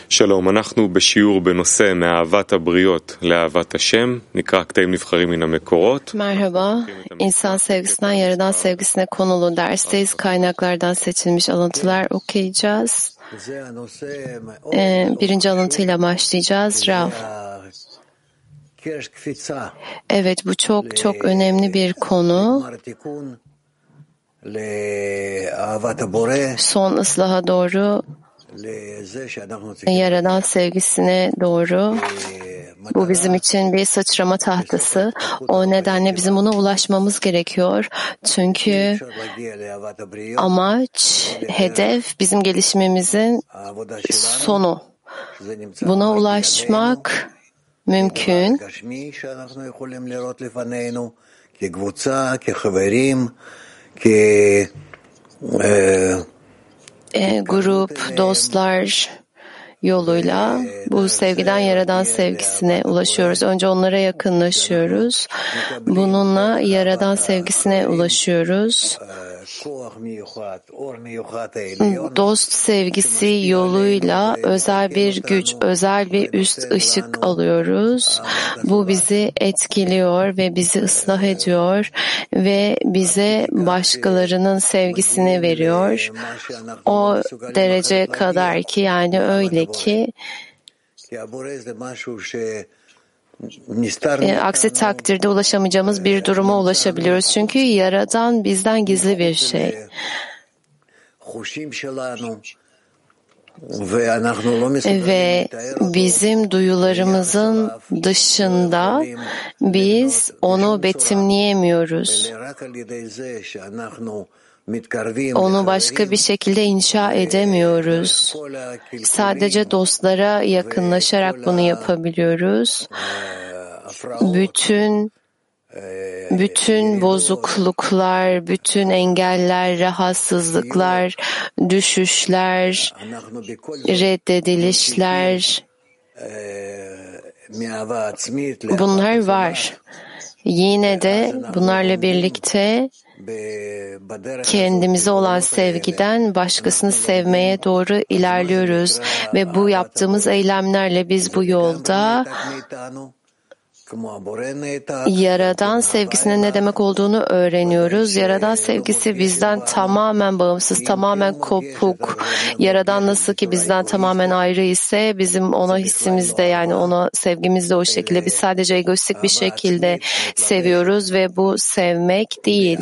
שלום, אנחנו בשיעור בנושא מאהבת הבריות לאהבת השם, נקרא קטעים נבחרים מן המקורות. Merhaba, insan sevgisinden yaradan sevgisine konulu dersteyiz. Kaynaklardan seçilmiş alıntılar okuyacağız. Birinci alıntıyla başlayacağız. Rav. Evet, bu çok önemli bir konu. Son ıslaha doğru, yaradan sevgisine doğru. Bu bizim için bir sıçrama tahtası. O nedenle bizim buna ulaşmamız gerekiyor. Çünkü amaç, hedef bizim gelişimimizin sonu. Buna ulaşmak mümkün. Grup, dostlar yoluyla bu sevgiden yaradan sevgisine ulaşıyoruz. Önce onlara yakınlaşıyoruz. Bununla yaradan sevgisine ulaşıyoruz. Dost sevgisi yoluyla özel bir güç, özel bir üst ışık alıyoruz. Bu bizi etkiliyor ve bizi ıslah ediyor ve bize başkalarının sevgisini veriyor. O derece kadar ki, yani öyle ki aksi takdirde ulaşamayacağımız bir duruma ulaşabiliyoruz. Çünkü Yaradan bizden gizli bir şey. Ve bizim duyularımızın dışında biz onu betimleyemiyoruz. Onu başka bir şekilde inşa edemiyoruz. Sadece dostlara yakınlaşarak bunu yapabiliyoruz. Bütün bozukluklar, bütün engeller, rahatsızlıklar, düşüşler, reddedilişler, bunlar var. Yine de bunlarla birlikte kendimize olan sevgiden başkasını sevmeye doğru ilerliyoruz ve bu yaptığımız eylemlerle biz bu yolda Yaradan sevgisinin ne demek olduğunu öğreniyoruz. Yaradan sevgisi bizden tamamen bağımsız, tamamen kopuk. Yaradan nasıl ki bizden tamamen ayrı ise bizim ona hissimiz de, yani ona sevgimiz de o şekilde. Biz sadece egoistik bir şekilde seviyoruz ve bu sevmek değil.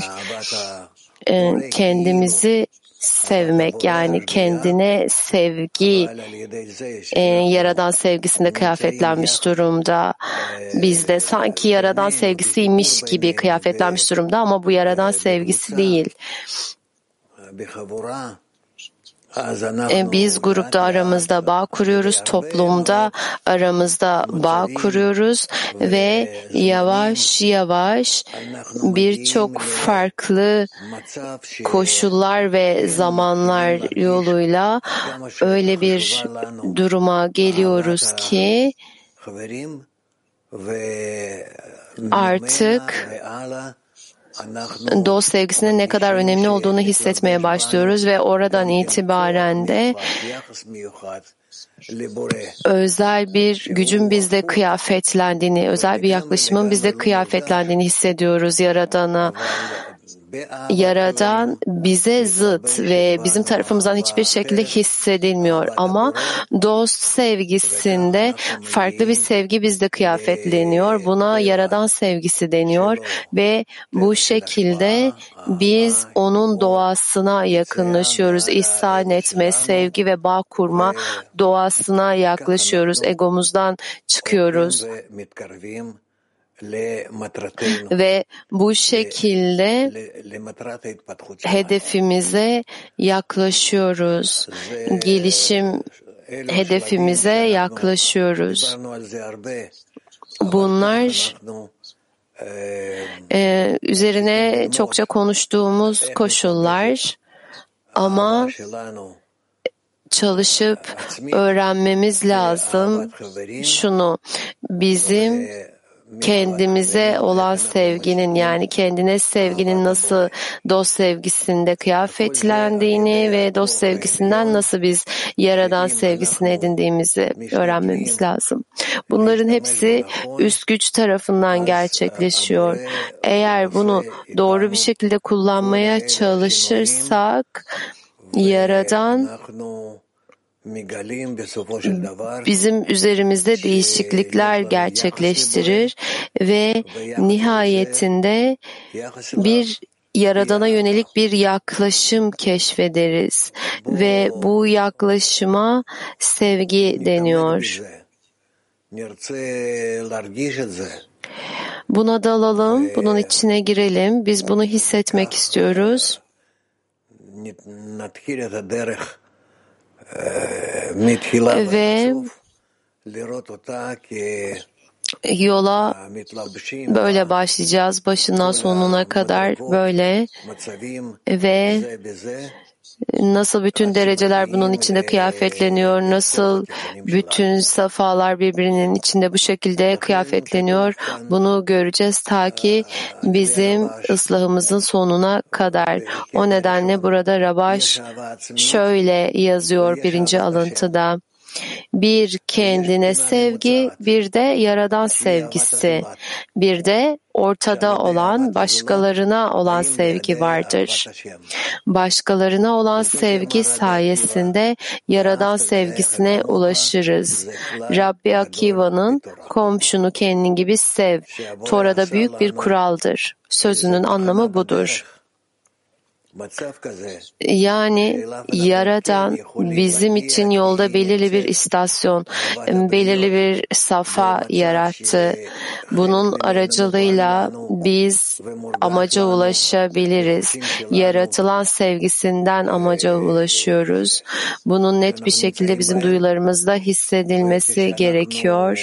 Kendimizi sevmek, yani kendine sevgi Yaradan sevgisinde kıyafetlenmiş durumda. Bizde sanki Yaradan sevgisiymiş gibi kıyafetlenmiş durumda ama bu Yaradan sevgisi değil. Biz grupta aramızda bağ kuruyoruz, toplumda aramızda bağ kuruyoruz ve yavaş yavaş birçok farklı koşullar ve zamanlar yoluyla öyle bir duruma geliyoruz ki artık dost sevgisinin ne kadar önemli olduğunu hissetmeye başlıyoruz ve oradan itibaren de özel bir gücün bizde kıyafetlendiğini, özel bir yaklaşımın bizde kıyafetlendiğini hissediyoruz Yaradan'a. Yaradan bize zıt ve bizim tarafımızdan hiçbir şekilde hissedilmiyor ama dost sevgisinde farklı bir sevgi bizde kıyafetleniyor. Buna Yaradan sevgisi deniyor ve bu şekilde biz onun doğasına yakınlaşıyoruz. İhsan etme, sevgi ve bağ kurma doğasına yaklaşıyoruz. Egomuzdan çıkıyoruz. Ve bu şekilde hedefimize yaklaşıyoruz. Gelişim hedefimize yaklaşıyoruz. Bunlar üzerine çokça konuştuğumuz koşullar ama çalışıp öğrenmemiz lazım şunu: bizim kendimize olan sevginin, yani kendine sevginin nasıl dost sevgisinde kıyafetlendiğini ve dost sevgisinden nasıl biz Yaradan sevgisini edindiğimizi öğrenmemiz lazım. Bunların hepsi üst güç tarafından gerçekleşiyor. Eğer bunu doğru bir şekilde kullanmaya çalışırsak, Yaradan bizim üzerimizde değişiklikler gerçekleştirir ve nihayetinde bir Yaradan'a yönelik bir yaklaşım keşfederiz ve bu yaklaşıma sevgi deniyor. Buna dalalım, bunun içine girelim. Biz bunu hissetmek istiyoruz. Ve yola böyle başlayacağız, başından sonuna kadar böyle ve nasıl bütün dereceler bunun içinde kıyafetleniyor, nasıl bütün safalar birbirinin içinde bu şekilde kıyafetleniyor, bunu göreceğiz ta ki bizim ıslahımızın sonuna kadar. O nedenle burada Rabash şöyle yazıyor birinci alıntıda: bir kendine sevgi, bir de Yaradan sevgisi, bir de ortada olan başkalarına olan sevgi vardır. Başkalarına olan sevgi sayesinde Yaradan sevgisine ulaşırız. Rabbi Akiva'nın komşunu kendin gibi sev, Tora'da büyük bir kuraldır. Sözünün anlamı budur. Yani Yaradan bizim için yolda belirli bir istasyon, belirli bir safa yarattı. Bunun aracılığıyla biz amaca ulaşabiliriz. Yaratılan sevgisinden amaca ulaşıyoruz. Bunun net bir şekilde bizim duyularımızda hissedilmesi gerekiyor.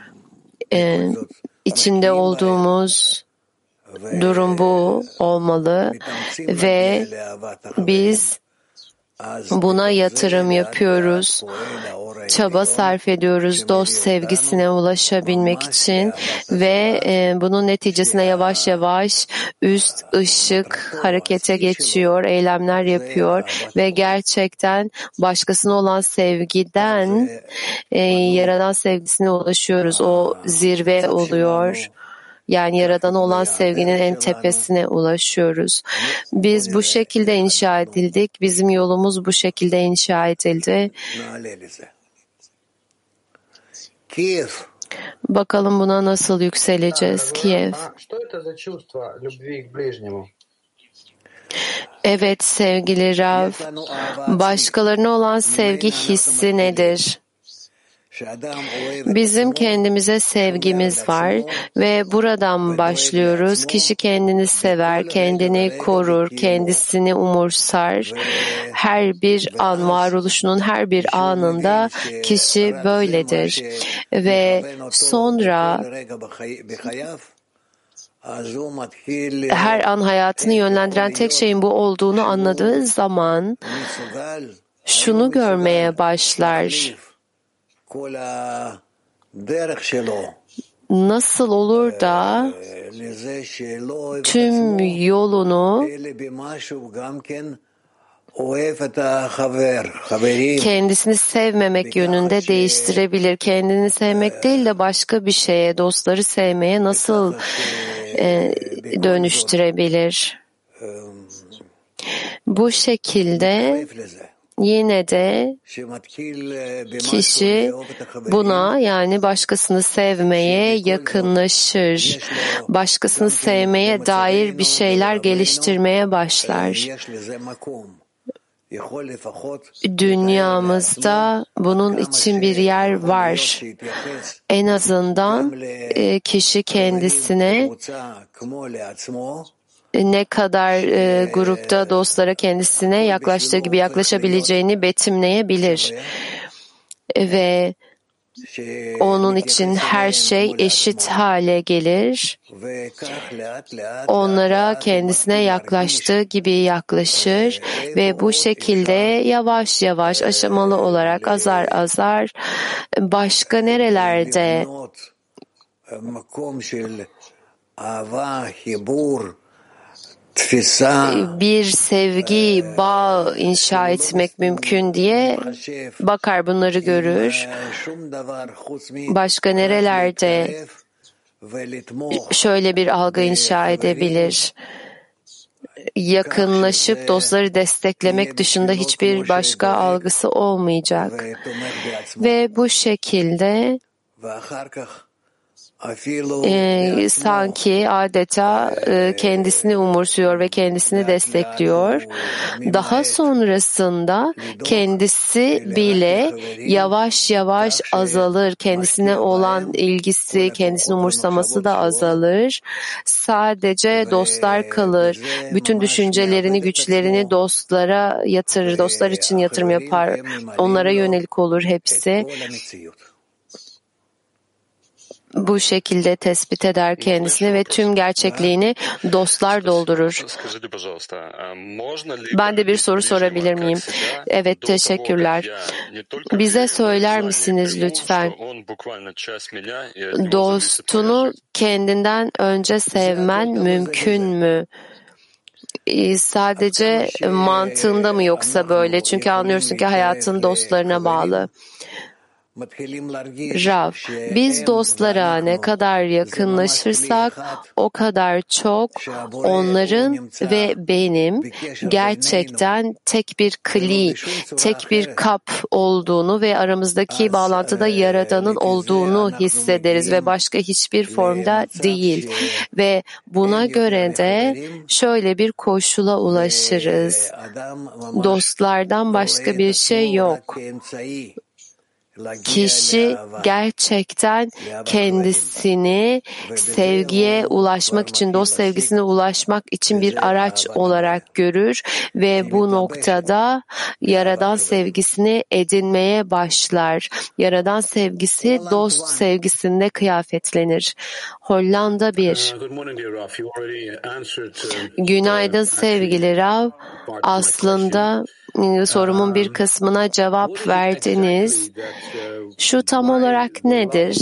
İçinde olduğumuz durum bu olmalı ve biz buna yatırım yapıyoruz, çaba sarf ediyoruz dost sevgisine ulaşabilmek için ve bunun neticesinde yavaş yavaş üst ışık harekete geçiyor, eylemler yapıyor ve gerçekten başkasına olan sevgiden Yaradan sevgisine ulaşıyoruz. O zirve oluyor. Yani Yaradan'a olan sevginin en tepesine ulaşıyoruz. Biz bu şekilde inşa edildik. Bizim yolumuz bu şekilde inşa edildi. Bakalım buna nasıl yükseleceğiz? Kiev. Evet sevgili Rav, başkalarına olan sevgi hissi nedir? Bizim kendimize sevgimiz var ve buradan başlıyoruz. Kişi kendini sever, kendini korur, kendisini umursar. Her bir an, varoluşunun her bir anında kişi böyledir. Ve sonra her an hayatını yönlendiren tek şeyin bu olduğunu anladığı zaman şunu görmeye başlar: nasıl olur da tüm yolunu kendisini sevmemek yönünde değiştirebilir. Kendini sevmek değil de başka bir şeye, dostları sevmeye nasıl dönüştürebilir? Bu şekilde yine de kişi buna, yani başkasını sevmeye yakınlaşır. Başkasını sevmeye dair bir şeyler geliştirmeye başlar. Dünyamızda bunun için bir yer var. En azından kişi kendisine ne kadar grupta dostlara kendisine yaklaştığı gibi yaklaşabileceğini betimleyebilir. Ve onun için her şey eşit hale gelir. Onlara kendisine yaklaştığı gibi yaklaşır ve bu şekilde yavaş yavaş, aşamalı olarak, azar azar başka nerelerde bir sevgi bağ inşa etmek mümkün diye bakar, bunları görür. Başka nerelerde şöyle bir algı inşa edebilir? Yakınlaşıp dostları desteklemek dışında hiçbir başka algısı olmayacak. Ve bu şekilde sanki adeta kendisini umursuyor ve kendisini destekliyor. Daha sonrasında kendisi bile yavaş yavaş azalır. Kendisine olan ilgisi, kendisini umursaması da azalır. Sadece dostlar kalır. Bütün düşüncelerini, güçlerini dostlara yatırır. Dostlar için yatırım yapar. Onlara yönelik olur hepsi. Bu şekilde tespit eder kendisini ve tüm gerçekliğini dostlar doldurur. Ben de bir soru sorabilir miyim? Evet, teşekkürler. Bize söyler misiniz lütfen? Dostunu kendinden önce sevmen mümkün mü? Sadece mantığında mı yoksa böyle? Çünkü anlıyorsun ki hayatın dostlarına bağlı. Rav, biz dostlara ne kadar yakınlaşırsak o kadar çok onların ve benim gerçekten tek bir kli, tek bir kap olduğunu ve aramızdaki bağlantıda Yaradan'ın olduğunu hissederiz ve başka hiçbir formda değil. Ve buna göre de şöyle bir koşula ulaşırız. Dostlardan başka bir şey yok. Kişi gerçekten kendisini sevgiye ulaşmak için, dost sevgisine ulaşmak için bir araç olarak görür ve bu noktada Yaradan sevgisini edinmeye başlar. Yaradan sevgisi dost sevgisinde kıyafetlenir. Hollanda 1. Günaydın sevgili Rav. Aslında sorumun bir kısmına cevap verdiniz. Şu tam olarak nedir?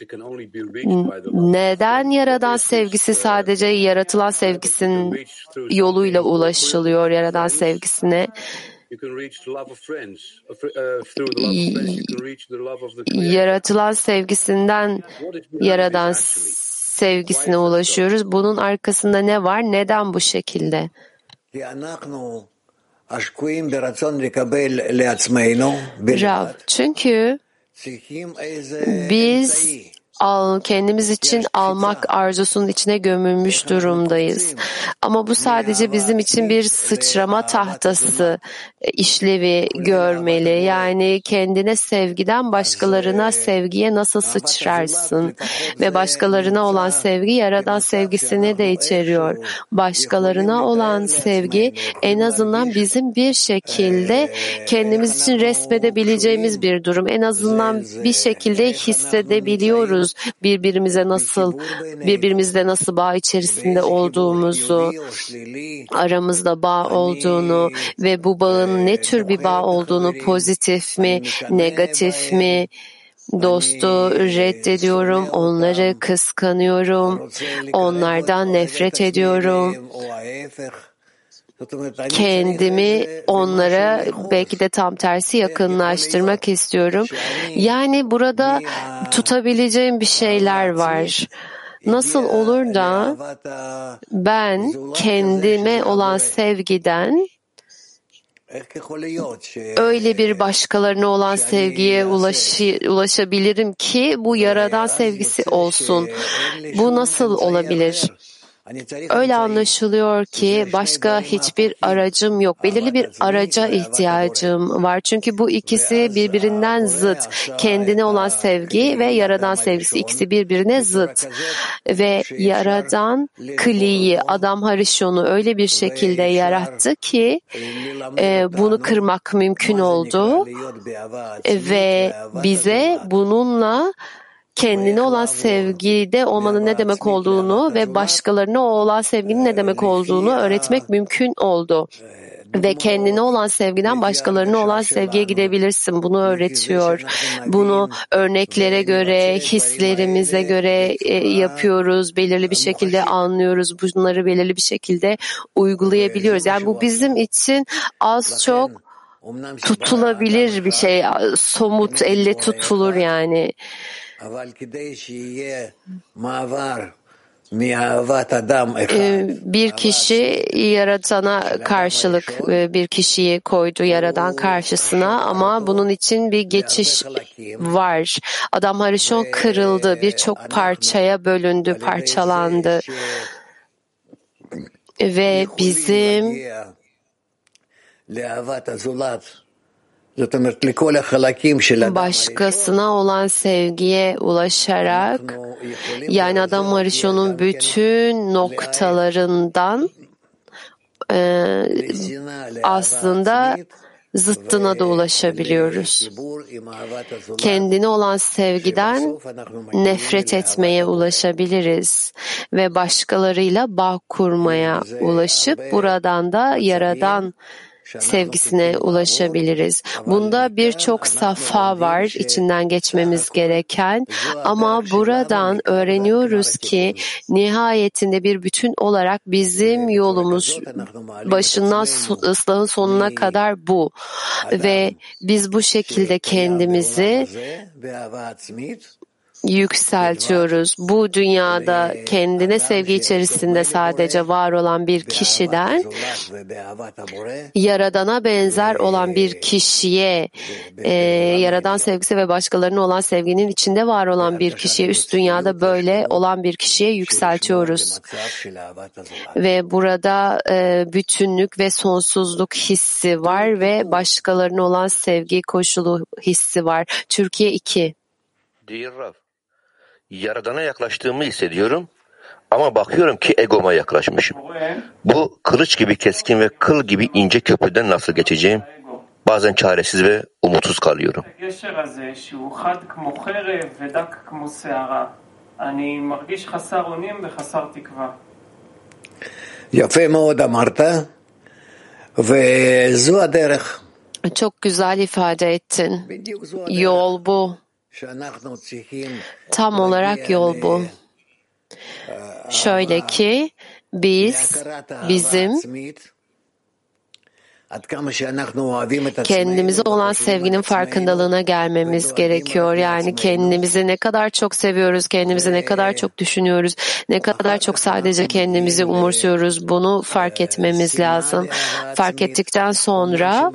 Neden Yaradan sevgisi sadece yaratılan sevgisinin yoluyla ulaşılıyor Yaradan sevgisine? Yaratılan sevgisinden Yaradan sevgisine ulaşıyoruz. Bunun arkasında ne var? Neden bu şekilde? Rav, çünkü biz kendimiz için almak arzusunun içine gömülmüş durumdayız. Ama bu sadece bizim için bir sıçrama tahtası işlevi görmeli. Yani kendine sevgiden başkalarına sevgiye nasıl sıçrarsın? Ve başkalarına olan sevgi Yaradan sevgisini de içeriyor. Başkalarına olan sevgi en azından bizim bir şekilde kendimiz için resmedebileceğimiz bir durum. En azından bir şekilde hissedebiliyoruz birbirimizle nasıl bağ içerisinde olduğumuzu, aramızda bağ olduğunu ve bu bağın ne tür bir bağ olduğunu, pozitif mi, negatif mi, dostu reddediyorum, onları kıskanıyorum, onlardan nefret ediyorum. Kendimi onlara belki de tam tersi yakınlaştırmak istiyorum. Yani burada tutabileceğim bir şeyler var. Nasıl olur da ben kendime olan sevgiden öyle bir başkalarına olan sevgiye ulaşabilirim ki bu Yaradan sevgisi olsun. Bu nasıl olabilir? Öyle anlaşılıyor ki başka hiçbir aracım yok. Belirli bir araca ihtiyacım var. Çünkü bu ikisi birbirinden zıt. Kendine olan sevgi ve Yaradan sevgisi ikisi birbirine zıt. Ve Yaradan Kli'yi, Adam Harishon'u öyle bir şekilde yarattı ki bunu kırmak mümkün oldu. Ve bize bununla kendine olan sevgide olmanın ne demek olduğunu ve başkalarına olan sevginin ne demek olduğunu öğretmek mümkün oldu. ve kendine olan sevgiden başkalarına olan sevgiye gidebilirsin. Bunu öğretiyor. Bunu örneklere göre, hislerimize göre yapıyoruz. Belirli bir şekilde anlıyoruz. Bunları belirli bir şekilde uygulayabiliyoruz. Yani bu bizim için az çok tutulabilir bir şey. Somut, elle tutulur yani. Bir kişi yaratana karşılık bir kişiyi koydu yaradan karşısına ama bunun için bir geçiş var. Adam Harishon kırıldı, birçok parçaya bölündü, parçalandı ve bizim başkasına olan sevgiye ulaşarak, yani Adam Harishon'un bütün noktalarından aslında zıttına da ulaşabiliyoruz. Kendine olan sevgiden nefret etmeye ulaşabiliriz ve başkalarıyla bağ kurmaya ulaşıp buradan da Yaradan sevgisine ulaşabiliriz. Bunda birçok safha var içinden geçmemiz gereken ama buradan öğreniyoruz ki nihayetinde bir bütün olarak bizim yolumuz başından ıslahın sonuna kadar bu ve biz bu şekilde kendimizi yükseltiyoruz. Bu dünyada kendine sevgi içerisinde sadece var olan bir kişiden Yaradan'a benzer olan bir kişiye, Yaradan sevgisi ve başkalarına olan sevginin içinde var olan bir kişiye, üst dünyada böyle olan bir kişiye yükseltiyoruz. Ve burada bütünlük ve sonsuzluk hissi var ve başkalarına olan sevgi koşulu hissi var. Türkiye 2. Yaradan'a yaklaştığımı hissediyorum ama bakıyorum ki egoma yaklaşmışım. Bu kılıç gibi keskin ve kıl gibi ince köprüden nasıl geçeceğim? Bazen çaresiz ve umutsuz kalıyorum. Çok güzel ifade ettin. Yol bu. Tam olarak yol bu. Şöyle ki bizim kendimize olan sevginin farkındalığına gelmemiz gerekiyor. Yani kendimizi ne kadar çok seviyoruz, kendimizi ne kadar çok düşünüyoruz, ne kadar çok sadece kendimizi umursuyoruz. Bunu fark etmemiz lazım. Fark ettikten sonra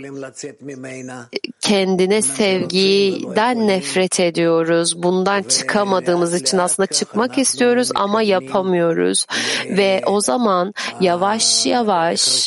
kendine sevgiden nefret ediyoruz. Bundan çıkamadığımız için aslında çıkmak istiyoruz ama yapamıyoruz. Ve o zaman yavaş yavaş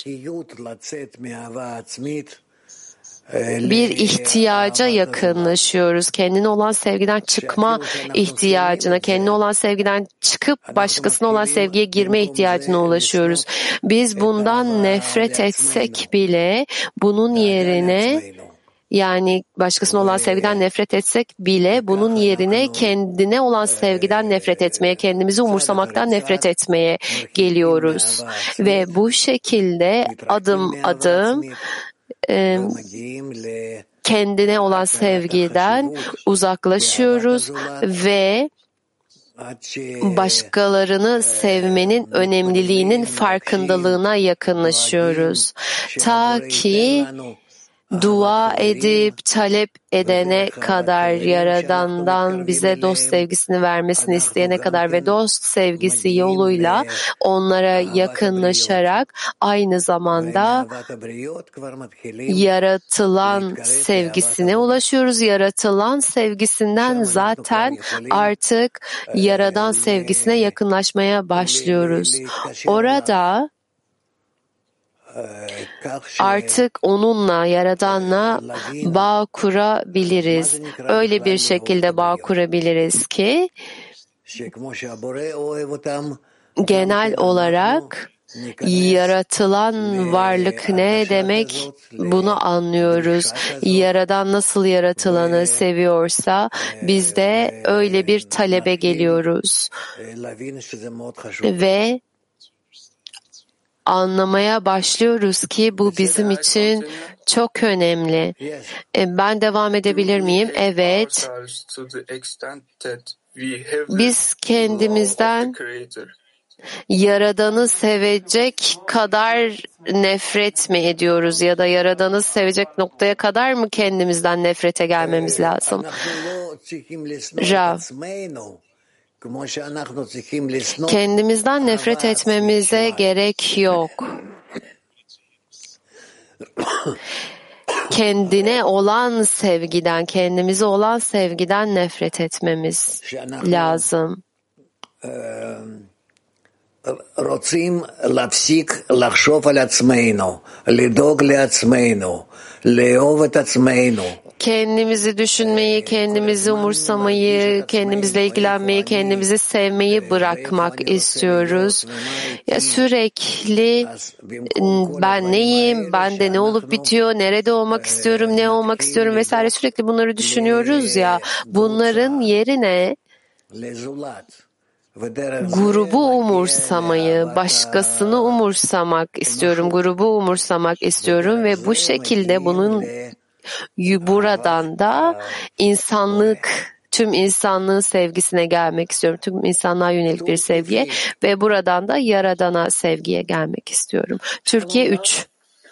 bir ihtiyaca yakınlaşıyoruz. Kendine olan sevgiden çıkma ihtiyacına, kendine olan sevgiden çıkıp başkasına olan sevgiye girme ihtiyacına ulaşıyoruz. Biz bundan nefret etsek bile bunun yerine, yani başkasına olan sevgiden nefret etsek bile bunun yerine kendine olan sevgiden nefret etmeye, kendimizi umursamaktan nefret etmeye geliyoruz. Ve bu şekilde adım adım kendine olan sevgiden uzaklaşıyoruz ve başkalarını sevmenin önemliliğinin farkındalığına yakınlaşıyoruz. Ta ki dua edip talep edene kadar, Yaradan'dan bize dost sevgisini vermesini isteyene kadar ve dost sevgisi yoluyla onlara yakınlaşarak aynı zamanda yaratılan sevgisine ulaşıyoruz. Yaratılan sevgisinden zaten artık Yaradan sevgisine yakınlaşmaya başlıyoruz. Orada artık onunla, Yaradan'la bağ kurabiliriz. Öyle bir şekilde bağ kurabiliriz ki genel olarak yaratılan varlık ne demek bunu anlıyoruz. Yaradan nasıl yaratılanı seviyorsa biz de öyle bir talebe geliyoruz. Ve anlamaya başlıyoruz ki bu bizim için çok önemli. Ben devam edebilir miyim? Evet. Biz kendimizden Yaradan'ı sevecek kadar nefret mi ediyoruz ya da Yaradan'ı sevecek noktaya kadar mı kendimizden nefrete gelmemiz lazım? Rav, kendimizden nefret etmemize gerek yok. Kendine olan sevgiden, kendimize olan sevgiden nefret etmemiz lazım. רוצים להפסיק לחשוב על עצמנו, לדאוג לעצמנו, לאהוב את עצמנו. Kendimizi düşünmeyi, kendimizi umursamayı, kendimizle ilgilenmeyi, kendimizi sevmeyi bırakmak istiyoruz. Ya sürekli ben neyim, bende ne olup bitiyor, nerede olmak istiyorum, ne olmak istiyorum vesaire sürekli bunları düşünüyoruz ya. Bunların yerine grubu umursamayı, başkasını umursamak istiyorum, grubu umursamak istiyorum ve bu şekilde buradan da tüm insanlığın sevgisine gelmek istiyorum. Tüm insanlığa yönelik bir sevgiye ve buradan da Yaradan'a sevgiye gelmek istiyorum. Türkiye 3.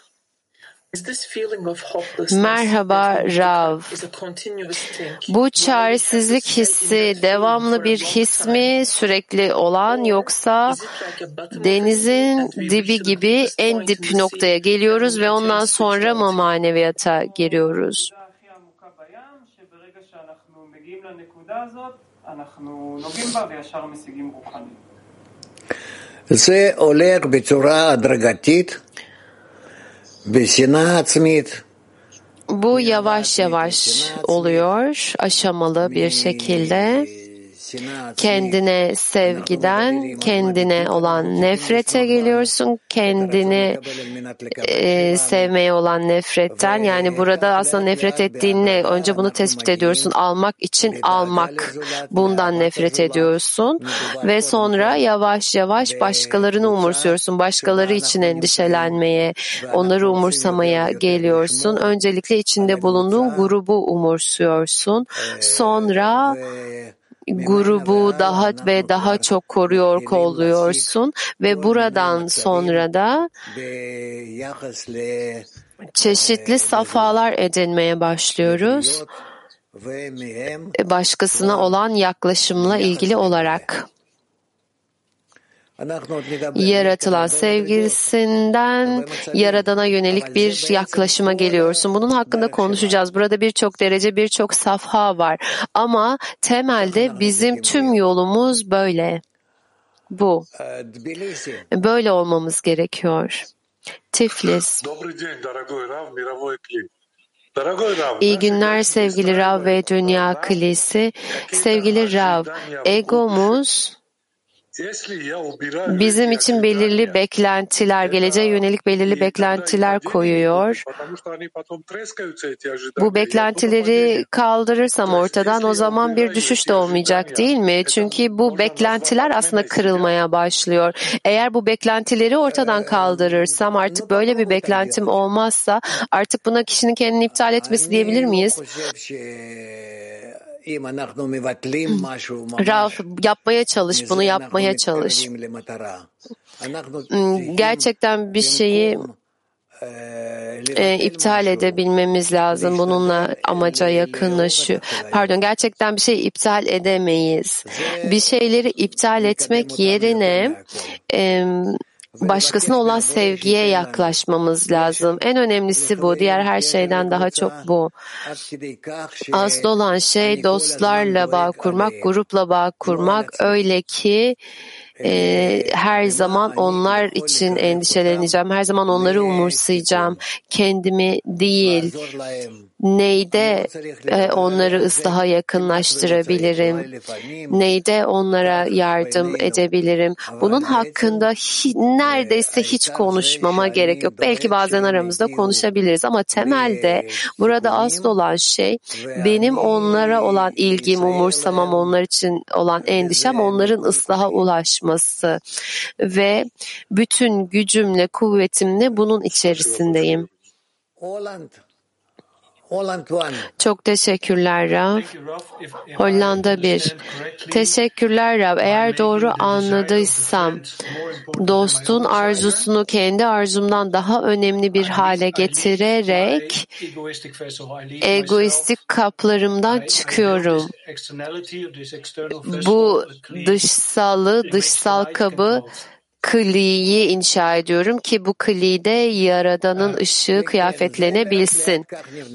Merhaba Rav. Bu çaresizlik hissi devamlı bir his mi, sürekli olan, yoksa denizin dibi gibi en dip noktaya geliyoruz ve ondan sonra mı maneviyata giriyoruz? זה הולך בצורה הדרגתית. Bu yavaş yavaş oluyor, aşamalı bir şekilde. Kendine sevgiden, kendine olan nefrete geliyorsun, kendini sevmeye olan nefretten. Yani burada aslında nefret ettiğin ne? Önce bunu tespit ediyorsun. Almak için almak. Bundan nefret ediyorsun. Ve sonra yavaş yavaş başkalarını umursuyorsun. Başkaları için endişelenmeye, onları umursamaya geliyorsun. Öncelikle içinde bulunduğun grubu umursuyorsun. Sonra grubu daha ve daha çok koruyor oluyorsun ve buradan sonra da çeşitli safhalar edinmeye başlıyoruz. Başkasına olan yaklaşımla ilgili olarak. Yaratılan sevgisinden Yaradan'a yönelik bir yaklaşıma geliyorsun. Bunun hakkında konuşacağız. Burada birçok derece, birçok safha var. Ama temelde bizim tüm yolumuz böyle. Bu. Böyle olmamız gerekiyor. Tiflis. İyi günler sevgili Rav ve Dünya Kilisi. Sevgili Rav, egomuz bizim için belirli beklentiler, geleceğe yönelik belirli beklentiler koyuyor. Bu beklentileri kaldırırsam ortadan o zaman bir düşüş de olmayacak değil mi? Çünkü bu beklentiler aslında kırılmaya başlıyor. Eğer bu beklentileri ortadan kaldırırsam, artık böyle bir beklentim olmazsa artık buna kişinin kendini iptal etmesi diyebilir miyiz? Rav, yapmaya çalış, bunu yapmaya çalış. Gerçekten bir şeyi iptal edebilmemiz lazım. Bununla amaca yakınlaşıyor. Gerçekten bir şeyi iptal edemeyiz. Bir şeyleri iptal etmek yerine başkasına olan sevgiye yaklaşmamız lazım. En önemlisi bu. Diğer her şeyden daha çok bu. Asıl olan şey dostlarla bağ kurmak, grupla bağ kurmak. Öyle ki her zaman onlar için endişeleneceğim. Her zaman onları umursayacağım. Kendimi değil. Neyde onları ıslaha yakınlaştırabilirim? Neyde onlara yardım edebilirim? Bunun hakkında neredeyse hiç konuşmama gerek yok. Belki bazen aramızda konuşabiliriz ama temelde burada asıl olan şey benim onlara olan ilgim, umursamam, onlar için olan endişem onların ıslaha ulaşması ve bütün gücümle, kuvvetimle bunun içerisindeyim. Çok teşekkürler Rav. Hollanda 1. Teşekkürler Rav. Eğer doğru anladıysam, dostun arzusunu kendi arzumdan daha önemli bir hale getirerek egoistik kaplarımdan çıkıyorum. Bu dışsal kabı kliyi inşa ediyorum ki bu klide Yaradan'ın ışığı kıyafetlenebilsin.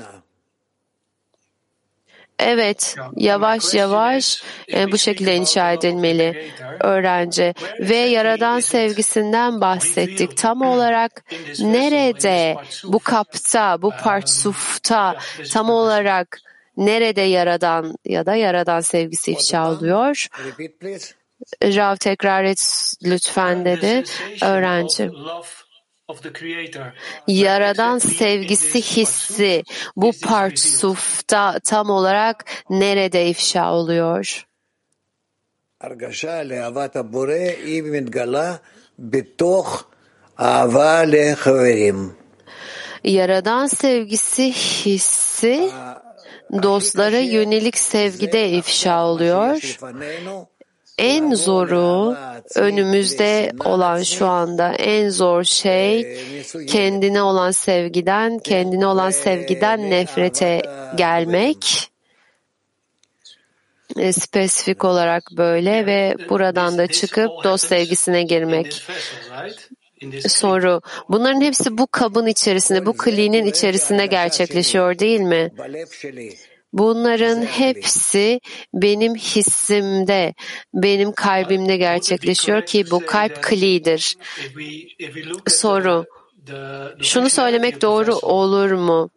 Evet, yavaş yavaş bu şekilde inşa edilmeli öğrenci. Ve Yaradan sevgisinden bahsettik. Tam olarak nerede, bu kapta, bu partsufta, tam olarak nerede Yaradan ya da Yaradan sevgisi ifşa oluyor? Rav tekrar et lütfen dedi öğrenci. Yaradan sevgisi hissi bu partsufta tam olarak nerede ifşa oluyor? Yaradan sevgisi hissi dostlara yönelik sevgide ifşa oluyor. En zoru önümüzde olan şu anda en zor şey kendine olan sevgiden nefrete gelmek. Spesifik olarak böyle ve buradan da çıkıp dost sevgisine girmek. Soru. Bunların hepsi bu kabın içerisinde, bu klinin içerisinde gerçekleşiyor değil mi? Bunların hepsi benim hissimde, benim kalbimde gerçekleşiyor ki bu kalp klidir. Soru. Şunu söylemek doğru olur mu?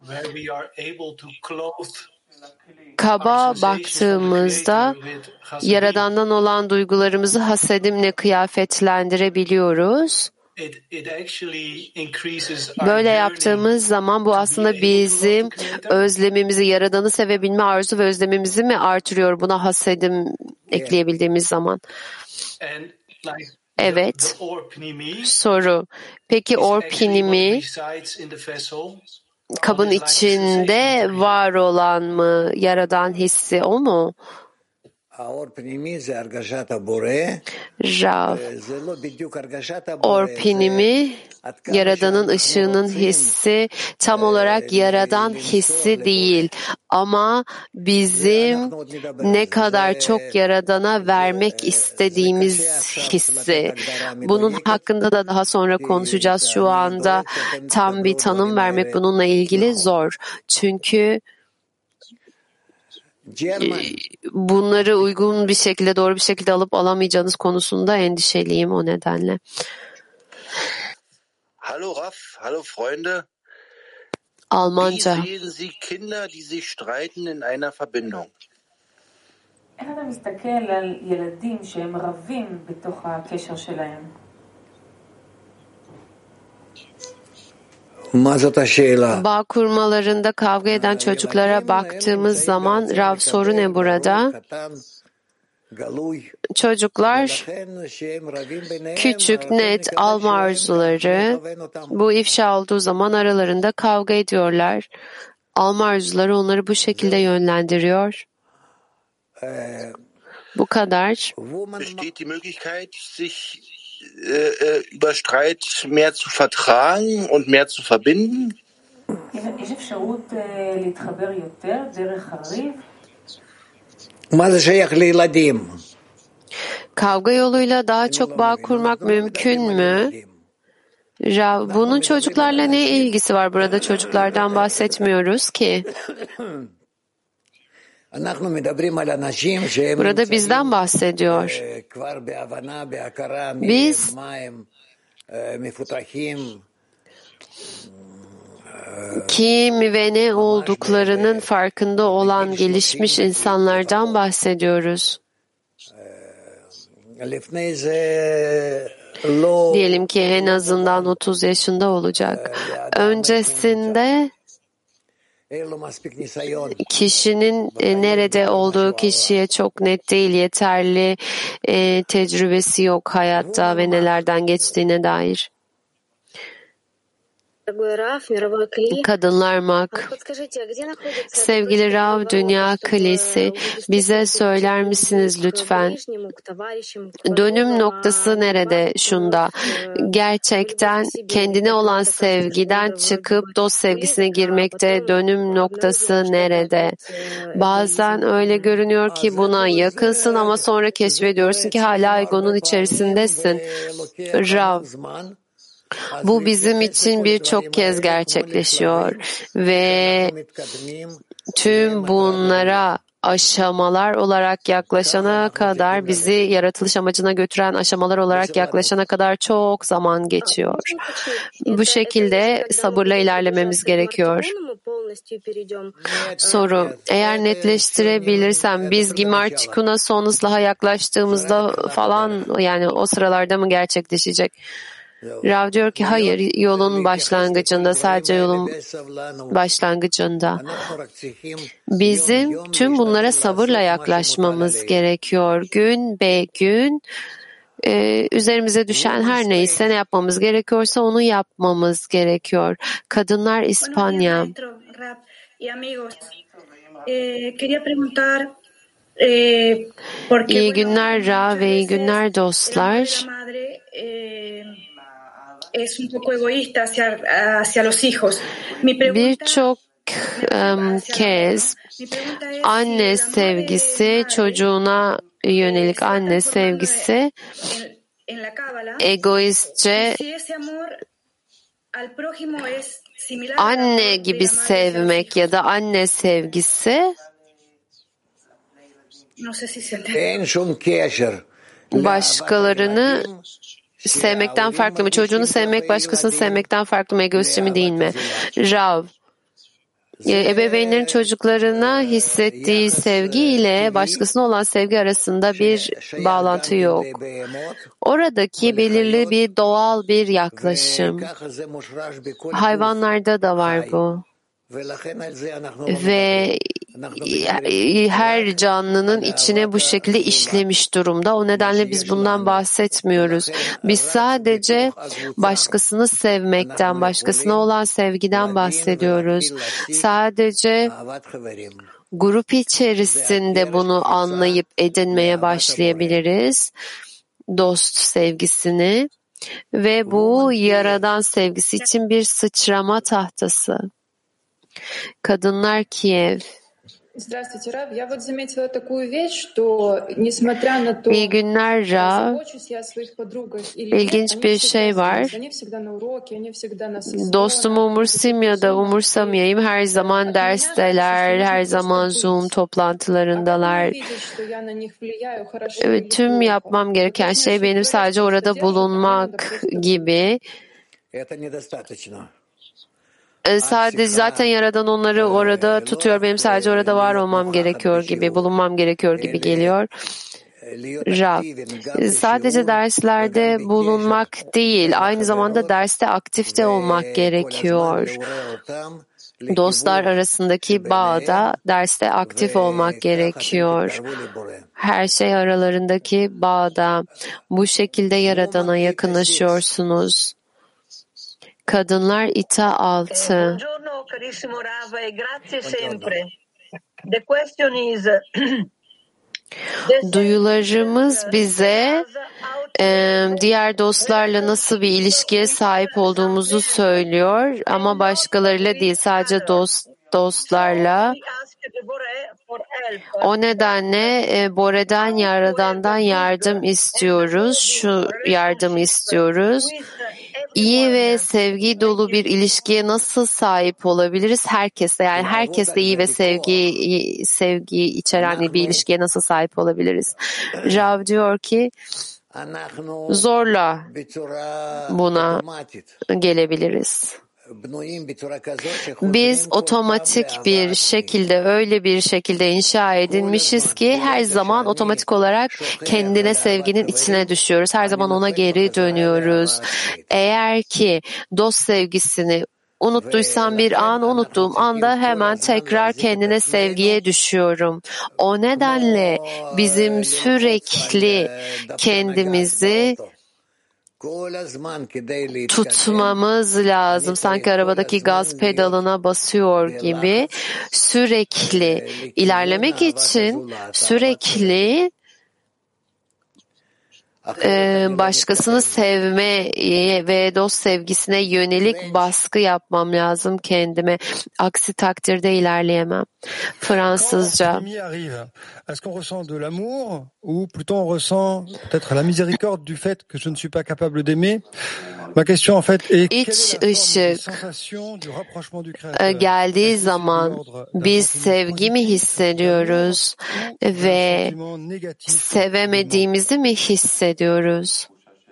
Kaba baktığımızda Yaradan'dan olan duygularımızı hasedimle kıyafetlendirebiliyoruz. Böyle yaptığımız zaman bu aslında bizim özlemimizi, Yaradan'ı sevebilme arzu ve özlemimizi mi artırıyor buna hasedim ekleyebildiğimiz zaman? Evet. Soru. Peki orpinimi kabın içinde var olan mı? Yaradan hissi o mu? Rav, orpinimi, Yaradan'ın ışığının hissi tam olarak Yaradan hissi değil. Ama bizim ne kadar çok Yaradan'a vermek istediğimiz hissi. Bunun hakkında da daha sonra konuşacağız. Şu anda tam bir tanım vermek bununla ilgili zor. Çünkü bunları uygun bir şekilde, doğru bir şekilde alıp alamayacağınız konusunda endişeliyim o nedenle. Hallo Raff, hallo Freunde. Almanca. Wie sehen Sie Kinder, die sich streiten in einer Verbindung? איך אתה מסתכל על ילדים שהם רבים בתוך הקשר שלהם? Bağ kurmalarında kavga eden çocuklara baktığımız zaman Rav soru ne burada? Çocuklar küçük, net alma arzuları bu ifşa olduğu zaman aralarında kavga ediyorlar. Alma arzuları onları bu şekilde yönlendiriyor. Bu kadar. Besteht die Möglichkeit, sich über Streit mehr zu vertragen und mehr zu verbinden? יש אפשרות להתחבר יותר דרך הריב? מה זה שייך לילדים? Kavga yoluyla daha çok bağ kurmak mümkün mü? Bunun çocuklarla ne ilgisi var? Burada çocuklardan bahsetmiyoruz ki. Burada bizden bahsediyor. Biz kim ve ne olduklarının farkında olan gelişmiş insanlardan bahsediyoruz. Diyelim ki en azından 30 yaşında olacak. Öncesinde kişinin nerede olduğu kişiye çok net değil, yeterli tecrübesi yok hayatta ve nelerden geçtiğine dair. Kadınlar Mak. Sevgili Rav, Dünya Kalesi, bize söyler misiniz lütfen? Dönüm noktası nerede şunda? Gerçekten kendine olan sevgiden çıkıp dost sevgisine girmekte dönüm noktası nerede? Bazen öyle görünüyor ki buna yakınsın ama sonra keşfediyorsun ki hala egonun içerisindesin. Rav, bu bizim için birçok kez gerçekleşiyor ve tüm bunlara aşamalar olarak yaklaşana kadar, bizi yaratılış amacına götüren aşamalar olarak yaklaşana kadar çok zaman geçiyor. Bu şekilde sabırla ilerlememiz gerekiyor. Soru, eğer netleştirebilirsem biz Gimar Tikun'a son ıslaha yaklaştığımızda falan, yani o sıralarda mı gerçekleşecek? Rav diyor ki hayır, yolun başlangıcında, sadece yolun başlangıcında. Bizim tüm bunlara sabırla yaklaşmamız gerekiyor. Gün be gün üzerimize düşen her neyse, ne yapmamız gerekiyorsa onu yapmamız gerekiyor. Kadınlar İspanya. İyi günler Rav ve iyi günler dostlar. Birçok kez anne sevgisi, çocuğuna yönelik anne sevgisi egoistçe, anne gibi sevmek ya da anne sevgisi başkalarını sevmekten farklı mı? Çocuğunu sevmek başkasını sevmekten farklı mı? Egoistçe mi değil mi? Rav, ebeveynlerin çocuklarına hissettiği sevgi ile başkasına olan sevgi arasında bir bağlantı yok. Oradaki belirli bir doğal bir yaklaşım. Hayvanlarda da var bu. Ve her canlının içine bu şekilde işlemiş durumda. O nedenle biz bundan bahsetmiyoruz. Biz sadece başkasını sevmekten, başkasına olan sevgiden bahsediyoruz. Sadece grup içerisinde bunu anlayıp edinmeye başlayabiliriz. Dost sevgisini ve bu Yaradan sevgisi için bir sıçrama tahtası. Kadınlar Kiev. Здравствуйте, Рав. Я вот заметила такую вещь, что несмотря на то, İyi günler Rav. İlginç bir şey var. Dostumu umursamıyor ya da umursamayayım. Her zaman dersteler, her zaman Zoom toplantılarındalar. Evet, tüm yapmam gereken şey benim sadece orada bulunmak gibi. Sadece zaten Yaradan onları orada tutuyor. Benim sadece orada var olmam gerekiyor gibi, bulunmam gerekiyor gibi geliyor. Rav, sadece derslerde bulunmak değil, aynı zamanda derste aktif de olmak gerekiyor. Dostlar arasındaki bağda derste aktif olmak gerekiyor. Her şey aralarındaki bağda. Bu şekilde Yaradan'a yakınlaşıyorsunuz. Kadınlar İTA 6. Buongiorno carissimo Rav e grazie sempre. The question is duyularımız bize diğer dostlarla nasıl bir ilişkiye sahip olduğumuzu söylüyor ama başkalarıyla değil, sadece dostlarla. O nedenle Bore'den, Yaradan'dan yardım istiyoruz. Şu yardımı istiyoruz. İyi ve sevgi dolu bir ilişkiye nasıl sahip olabiliriz? Herkesle, yani herkesle iyi ve sevgi içeren bir ilişkiye nasıl sahip olabiliriz? Rav diyor ki zorla buna gelebiliriz. Biz otomatik bir şekilde, öyle bir şekilde inşa edilmişiz ki her zaman otomatik olarak kendine sevginin içine düşüyoruz. Her zaman ona geri dönüyoruz. Eğer ki dost sevgisini unuttuysam bir an, unuttuğum anda hemen tekrar kendine sevgiye düşüyorum. O nedenle bizim sürekli kendimizi tutmamız lazım. Sanki arabadaki gaz pedalına basıyor gibi. Sürekli ilerlemek için sürekli başkasını sevmeye ve dost sevgisine yönelik baskı yapmam lazım kendime. Aksi takdirde ilerleyemem. Fransızca. Est-ce qu'on ressent de l'amour ou plutôt on ressent peut-être la miséricorde du fait que je ne suis pas capable d'aimer? Ma question en fait est İç ışık geldiği zaman biz sevgi mi hissediyoruz ve sevemediğimizi mi hissediyoruz?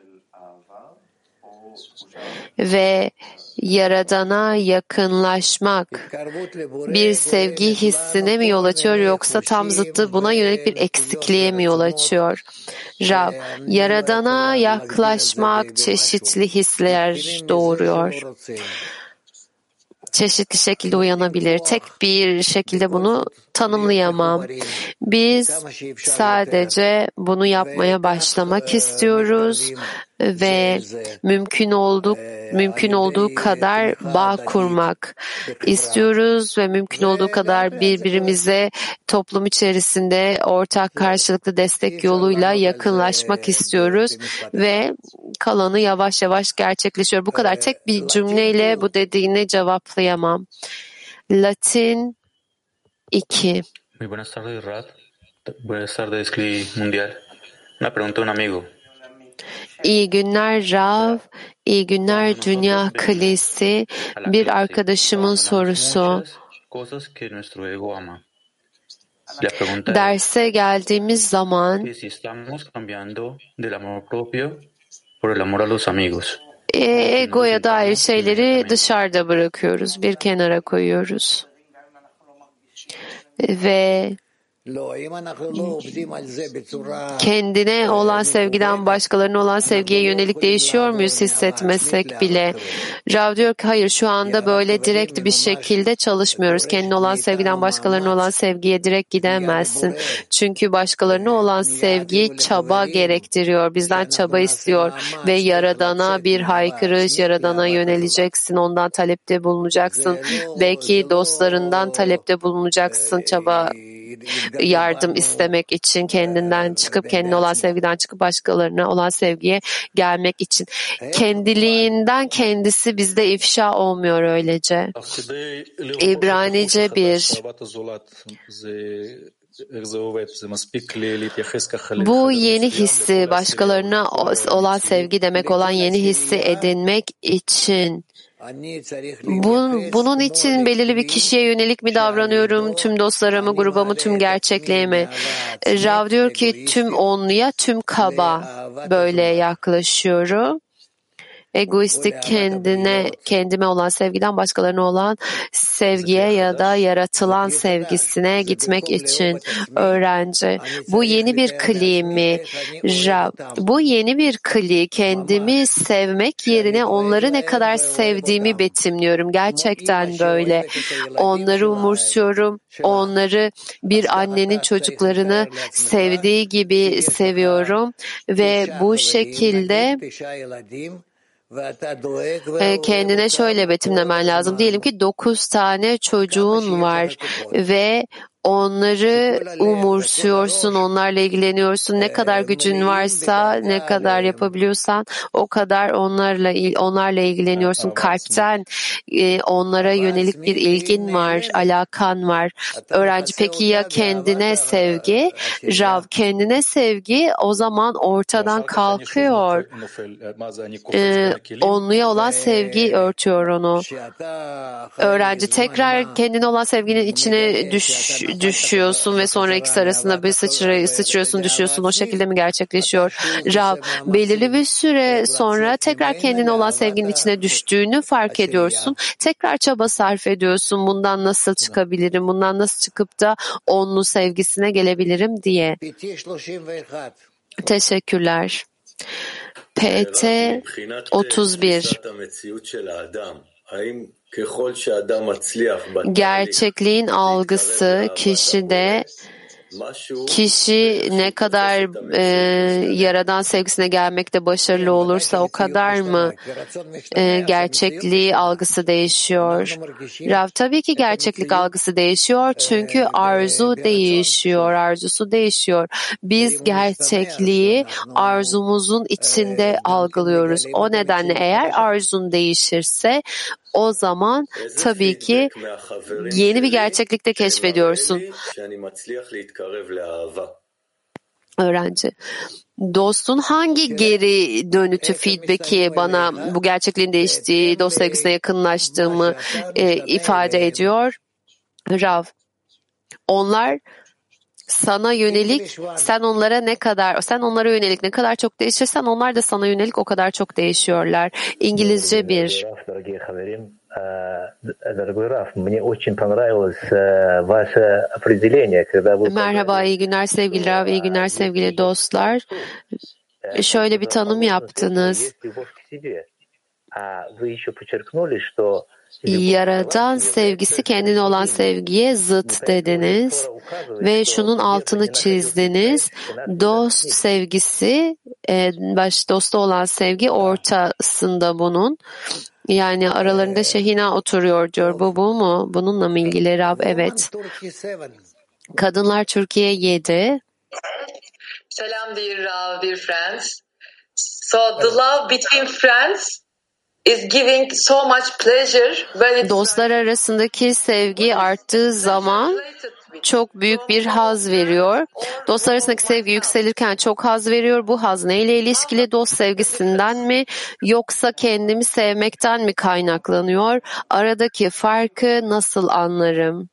Ve Yaradan'a yakınlaşmak bir sevgi hissine mi yol açıyor yoksa tam zıttı buna yönelik bir eksikliğe mi yol açıyor? Rab, Yaradan'a yaklaşmak çeşitli hisler doğuruyor. Çeşitli şekilde uyanabilir. Tek bir şekilde bunu tanımlayamam. Biz sadece bunu yapmaya başlamak istiyoruz ve mümkün olduğu kadar bağ kurmak istiyoruz ve mümkün olduğu kadar birbirimize toplum içerisinde ortak karşılıklı destek yoluyla yakınlaşmak istiyoruz ve kalanı yavaş yavaş gerçekleşiyor. Bu kadar tek bir cümleyle bu dediğini cevaplayamam. Latin 2. Muy buenas tardes, Rad. Buenas tardes, CLI Mundial. Una pregunta a un amigo. İyi günler Rav, iyi günler Dünya Klisi. Bir arkadaşımın sorusu. Derse geldiğimiz zaman egoya dair şeyleri dışarıda bırakıyoruz, bir kenara koyuyoruz. Ve kendine olan sevgiden başkalarına olan sevgiye yönelik değişiyor muyuz hissetmesek bile? Rav diyor ki hayır, şu anda böyle direkt bir şekilde çalışmıyoruz. Kendine olan sevgiden başkalarına olan sevgiye direkt gidemezsin. Çünkü başkalarına olan sevgi çaba gerektiriyor. Bizden çaba istiyor ve Yaradan'a bir haykırış, Yaradan'a yöneleceksin. Ondan talepte bulunacaksın. Belki dostlarından talepte bulunacaksın, çaba yardım istemek için, kendinden çıkıp, kendine olan sevgiden çıkıp başkalarına olan sevgiye gelmek için. Kendiliğinden kendisi bizde ifşa olmuyor öylece. İbranice 1. Bu yeni hissi, başkalarına olan sevgi demek olan yeni hissi edinmek için bunun için belirli bir kişiye yönelik mi davranıyorum, tüm dostlarımı, grubamı, tüm gerçekliğe mi? Rav diyor ki tüm onluya, tüm kaba böyle yaklaşıyorum. Egoistik, kendime olan sevgiden başkalarına olan sevgiye ya da yaratılan sevgisine gitmek için öğrenci. Bu yeni bir kli mi? Bu yeni bir kli. Kendimi sevmek yerine onları ne kadar sevdiğimi betimliyorum. Gerçekten böyle. Onları umursuyorum. Onları bir annenin çocuklarını sevdiği gibi seviyorum ve bu şekilde kendine şöyle betimlemen lazım. Diyelim ki 9 tane çocuğun var ve onları umursuyorsun, onlarla ilgileniyorsun. Ne kadar gücün varsa, ne kadar yapabiliyorsan o kadar onlarla ilgileniyorsun. Kalpten onlara yönelik bir ilgin var, alakan var. Öğrenci, peki ya kendine sevgi? Rav, kendine sevgi o zaman ortadan kalkıyor. Onluya olan sevgi örtüyor onu. Öğrenci tekrar kendine olan sevginin içine düşüyorsun ve sonra ikisi arasında bir sıçrıyorsun, düşüyorsun. O şekilde mi gerçekleşiyor? Rav, belirli bir süre sonra tekrar kendine olan sevginin içine düştüğünü fark ediyorsun. Tekrar çaba sarf ediyorsun. Bundan nasıl çıkabilirim? Bundan nasıl çıkıp da onlu sevgisine gelebilirim diye. Teşekkürler. PT 31. Gerçekliğin algısı kişide, kişi ne kadar Yaradan sevgisine gelmekte başarılı olursa o kadar mı gerçekliği algısı değişiyor? Rav, tabii ki gerçeklik algısı değişiyor çünkü arzu değişiyor, arzusu değişiyor. Biz gerçekliği arzumuzun içinde algılıyoruz. O nedenle eğer arzun değişirse o zaman tabii ki yeni bir gerçeklikte keşfediyorsun. Öğrenci. Dostun hangi geri dönütü, feedback'i bana bu gerçekliğin değiştiği, dost sevgisine yakınlaştığımı ifade ediyor? Rav, onlar sana yönelik, sen onlara yönelik ne kadar çok değişirsen onlar da sana yönelik o kadar çok değişiyorlar. İngilizce 1. Merhaba, iyi günler sevgili Rav, iyi günler sevgili dostlar. Şöyle bir tanım yaptınız. Yaradan sevgisi kendine olan sevgiye zıt dediniz ve şunun altını çizdiniz. Dost sevgisi, dosta olan sevgi ortasında bunun. Yani aralarında Şehina oturuyor diyor. Bu mu? Bununla mı ilgili Rab? Evet. Kadınlar Türkiye 7. Selam dear Rav, dear friends. So the love between friends is giving so much pleasure when dostlar arasındaki sevgi arttığı zaman çok büyük bir haz veriyor. Dostlar arasındaki sevgi yükselirken çok haz veriyor. Bu haz neyle ilişkili? Dost sevgisinden mi yoksa kendimi sevmekten mi kaynaklanıyor? Aradaki farkı nasıl anlarım?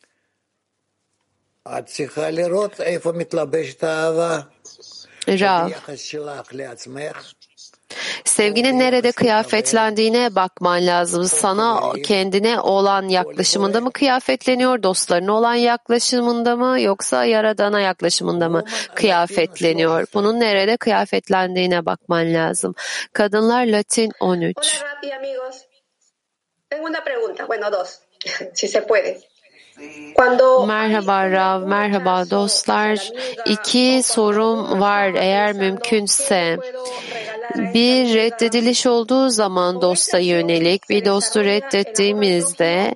Rav, sevginin nerede kıyafetlendiğine bakman lazım. Sana kendine olan yaklaşımında mı kıyafetleniyor, dostlarına olan yaklaşımında mı yoksa Yaradan'a yaklaşımında mı kıyafetleniyor? Bunun nerede kıyafetlendiğine bakman lazım. Kadınlar Latin 13. Merhaba Rav, merhaba dostlar. 2 sorum var eğer mümkünse. Bir reddediliş olduğu zaman dosta yönelik, bir dostu reddettiğimizde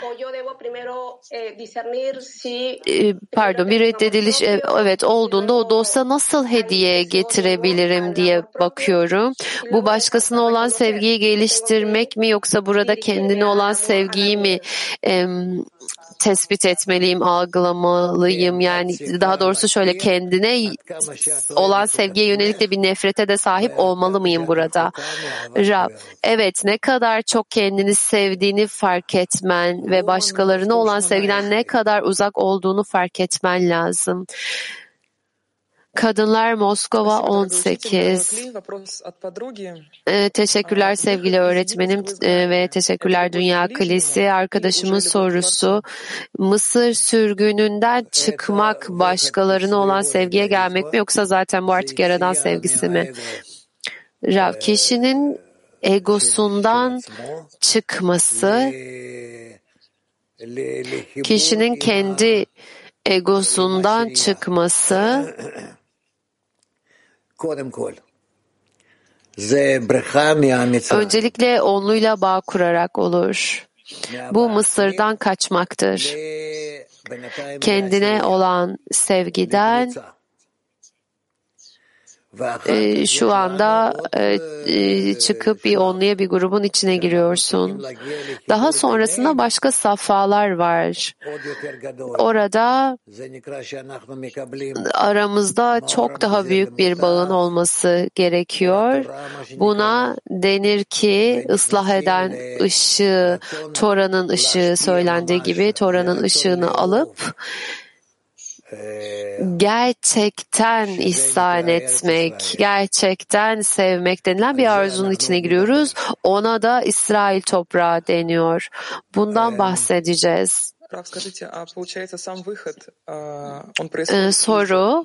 bir reddediliş evet olduğunda o dosta nasıl hediye getirebilirim diye bakıyorum. Bu başkasına olan sevgiyi geliştirmek mi yoksa burada kendine olan sevgiyi mi tespit etmeliyim, algılamalıyım? Yani daha doğrusu şöyle, kendine olan sevgiye yönelik de bir nefrete de sahip olmalı mıyım burada? Rab, evet, ne kadar çok kendini sevdiğini fark etmen ve başkalarına olan sevgiden ne kadar uzak olduğunu fark etmen lazım. Kadınlar Moskova 18. Teşekkürler sevgili öğretmenim ve teşekkürler Dünya Kilisi. Arkadaşımın sorusu, Mısır sürgününden çıkmak başkalarına olan sevgiye gelmek mi yoksa zaten bu artık Yaradan sevgisi mi? Rav, kişinin egosundan çıkması, kişinin kendi egosundan çıkması öncelikle onluyla bağ kurarak olur. Bu Mısır'dan kaçmaktır. Kendine olan sevgiden şu anda çıkıp bir onluya bir grubun içine giriyorsun. Daha sonrasında başka safhalar var. Orada aramızda çok daha büyük bir bağın olması gerekiyor. Buna denir ki ıslah eden ışığı, Tora'nın ışığı söylendiği gibi Tora'nın ışığını alıp gerçekten ihsan etmek, gerçekten sevmek denilen bir arzunun içine giriyoruz. Ona da İsrail toprağı deniyor. Bundan bahsedeceğiz. Soru.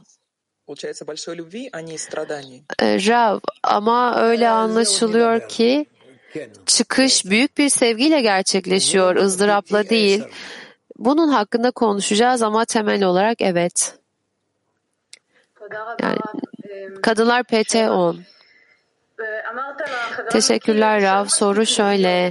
Rav, ama öyle anlaşılıyor ki çıkış büyük bir sevgiyle gerçekleşiyor, ızdırapla değil. Bunun hakkında konuşacağız ama temel olarak evet. Yani, Kadınlar PT 10. Teşekkürler Rav. Soru şöyle.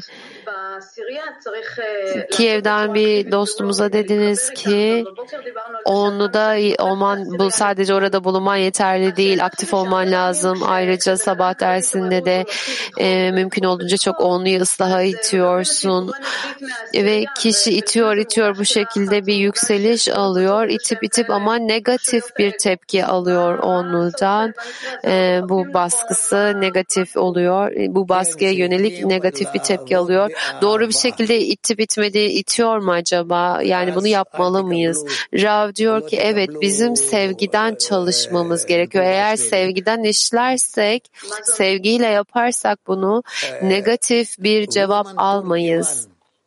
Kiev'den bir dostumuza dediniz ki onluda olman, bu sadece orada bulunman yeterli değil, aktif olman lazım. Ayrıca sabah dersinde de mümkün olduğunca çok onluyu ıslaha itiyorsun ve kişi itiyor bu şekilde bir yükseliş alıyor, itip ama negatif bir tepki alıyor onludan. Bu baskısı negatif oluyor, bu baskıya yönelik negatif bir tepki alıyor. Doğru bir şekilde itip itiyor mu acaba? Yani bunu yapmalı mıyız? Rav diyor ki evet, bizim sevgiden çalışmamız gerekiyor. Eğer sevgiden işlersek, sevgiyle yaparsak bunu negatif bir cevap almayız.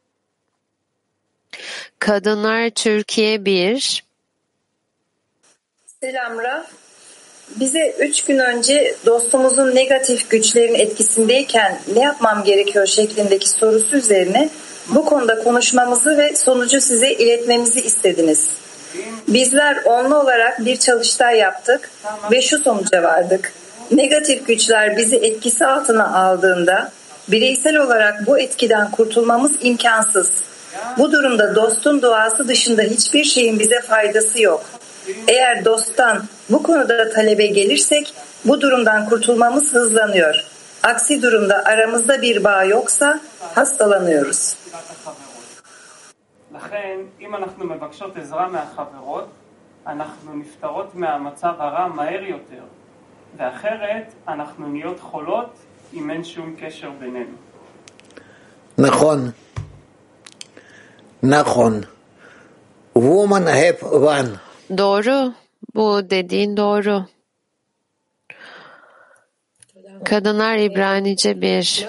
Kadınlar Türkiye 1. Selam Rav. Bize 3 gün önce dostumuzun negatif güçlerin etkisindeyken ne yapmam gerekiyor şeklindeki sorusu üzerine bu konuda konuşmamızı ve sonucu size iletmemizi istediniz. Bizler onlu olarak bir çalıştay yaptık ve şu sonuca vardık. Negatif güçler bizi etkisi altına aldığında bireysel olarak bu etkiden kurtulmamız imkansız. Bu durumda dostun duası dışında hiçbir şeyin bize faydası yok. Eğer dosttan bu konuda talebe gelirsek bu durumdan kurtulmamız hızlanıyor. Aksi durumda aramızda bir bağ yoksa hastalanıyoruz. לכן, אם אנחנו מבקשות עזרה מהחברות, אנחנו נפטרות מהמצב הרע מהר יותר, ואחרת אנחנו נהיות חולות אם אין שום קשר בינינו. נכון. נכון. Woman have one. Doğru. Bu dediğin doğru. Kadınlar İbranice 1.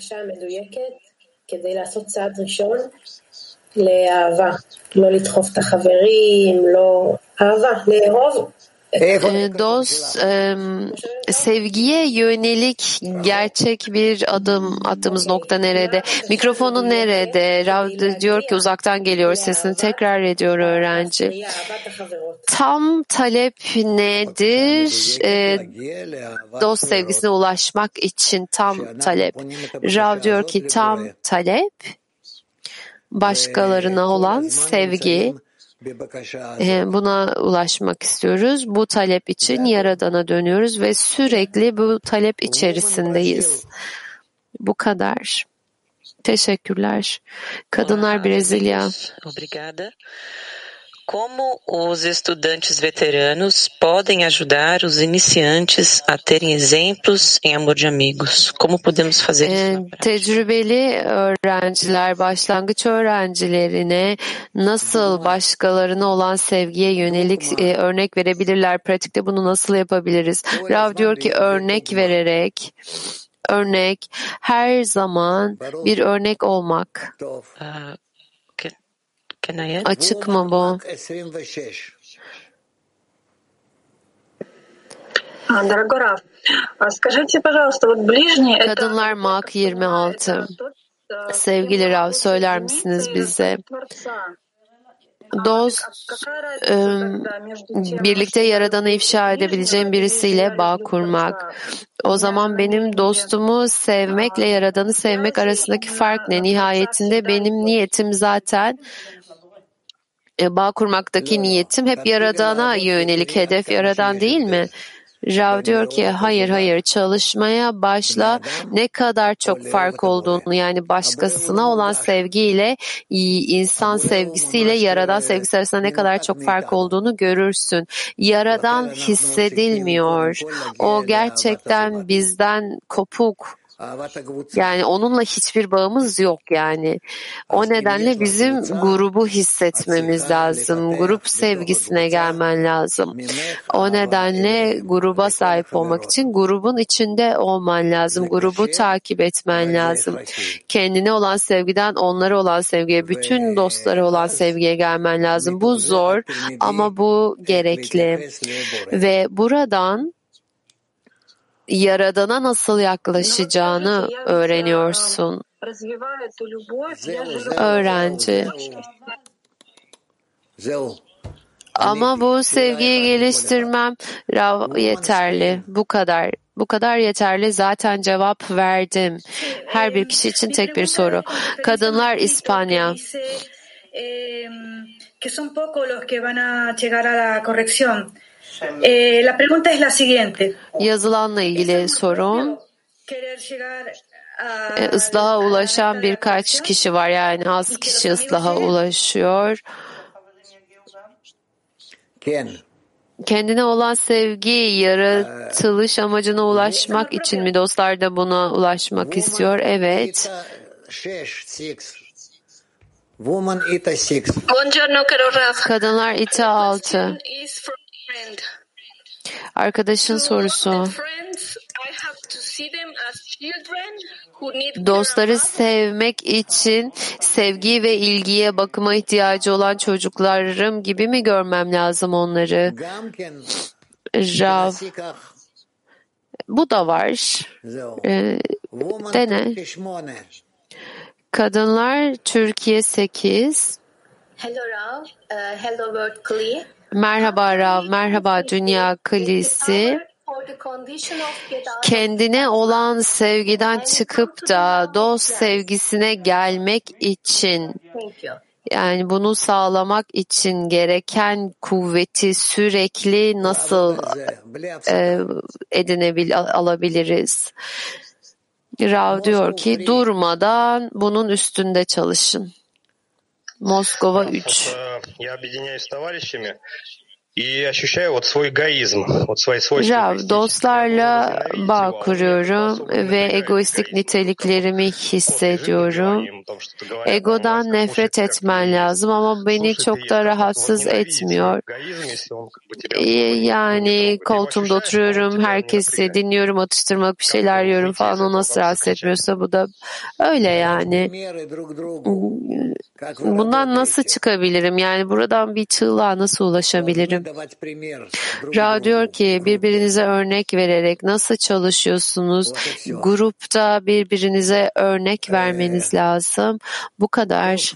לאהבה, לא לדחוף את החברים, לא אהבה, לאהוב. Dost, sevgiye yönelik gerçek bir adım attığımız nokta nerede? Mikrofonun nerede? Rav diyor ki uzaktan geliyor, sesini tekrar ediyor öğrenci. Tam talep nedir? Dost sevgisine ulaşmak için tam talep. Rav diyor ki tam talep başkalarına olan sevgi. Buna ulaşmak istiyoruz. Bu talep için Yaradan'a dönüyoruz ve sürekli bu talep içerisindeyiz. Bu kadar. Teşekkürler. Kadınlar Brezilya. Obrigada. Como os estudantes veteranos podem ajudar os iniciantes a terem exemplos em amor de amigos? Como podemos fazer isso? Tecrübeli öğrenciler, başlangıç öğrencilerine nasıl başkalarına olan sevgiye yönelik örnek verebilirler? Pratikte bunu nasıl yapabiliriz? Rav diyor ki örnek vererek, her zaman bir örnek olmak. Açık mı bu? Kadınlar Mak 26. Sevgili Rav, söyler misiniz bize? Dost, birlikte Yaradan'ı ifşa edebileceğim birisiyle bağ kurmak. O zaman benim dostumu sevmekle Yaradan'ı sevmek arasındaki fark ne? Nihayetinde benim niyetim zaten bağ kurmaktaki niyetim hep Yaradan'a yönelik, hedef Yaradan değil mi? Rav diyor ki hayır çalışmaya başla, ne kadar çok fark olduğunu, yani başkasına olan sevgiyle insan sevgisiyle Yaradan sevgisi arasında ne kadar çok fark olduğunu görürsün. Yaradan hissedilmiyor. O gerçekten bizden kopuk. Yani onunla hiçbir bağımız yok yani. O nedenle bizim grubu hissetmemiz lazım. Grup sevgisine gelmen lazım. O nedenle gruba sahip olmak için grubun içinde olman lazım. Grubu takip etmen lazım. Kendine olan sevgiden onlara olan sevgiye, bütün dostlara olan sevgiye gelmen lazım. Bu zor ama bu gerekli. Ve buradan Yaradan'a nasıl yaklaşacağını öğreniyorsun. Öğrenci. Ama bu sevgiyi geliştirmem yeterli. Bu kadar yeterli. Zaten cevap verdim. Her bir kişi için tek bir soru. Kadınlar İspanya. La pregunta es la siguiente. Yazılanla ilgili sorun. Islaha ulaşan birkaç kişi var, yani az kişi ıslaha ulaşıyor. Kendine olan sevgi, yaratılış amacına ulaşmak için mi dostlar da buna ulaşmak istiyor? Evet. Kadınlar İTA 6. Arkadaşın sorusu. Dostları sevmek için sevgi ve ilgiye, bakıma ihtiyacı olan çocuklarım gibi mi görmem lazım onları? Rav. Bu da var. Dene. Kadınlar Türkiye 8. Hello Rav. Hello World Kli. Merhaba Rav, merhaba Dünya Klisi. Kendine olan sevgiden çıkıp da dost sevgisine gelmek için, yani bunu sağlamak için gereken kuvveti sürekli nasıl alabiliriz? Rav diyor ki durmadan bunun üstünde çalışın. Moskova 3. Rav, dostlarla bağ kuruyorum ve egoistik niteliklerimi hissediyorum. Egodan nefret etmen lazım ama beni çok da rahatsız etmiyor. Yani koltuğumda oturuyorum, herkesi dinliyorum, atıştırmalık bir şeyler yiyorum falan, o nasıl rahatsız etmiyorsa bu da öyle yani. Bundan nasıl çıkabilirim? Yani buradan bir çığlığa nasıl ulaşabilirim? Ra diyor ki birbirinize örnek vererek nasıl çalışıyorsunuz? Grupta birbirinize örnek vermeniz lazım. Bu kadar.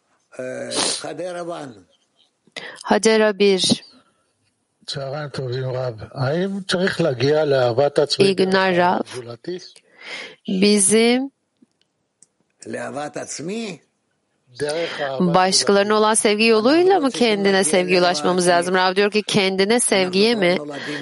Hadera 1. İyi günler Rav. Bizim başkalarına olan sevgi yoluyla mı kendine sevgiye ulaşmamız lazım? Rav diyor ki kendine sevgiye mi?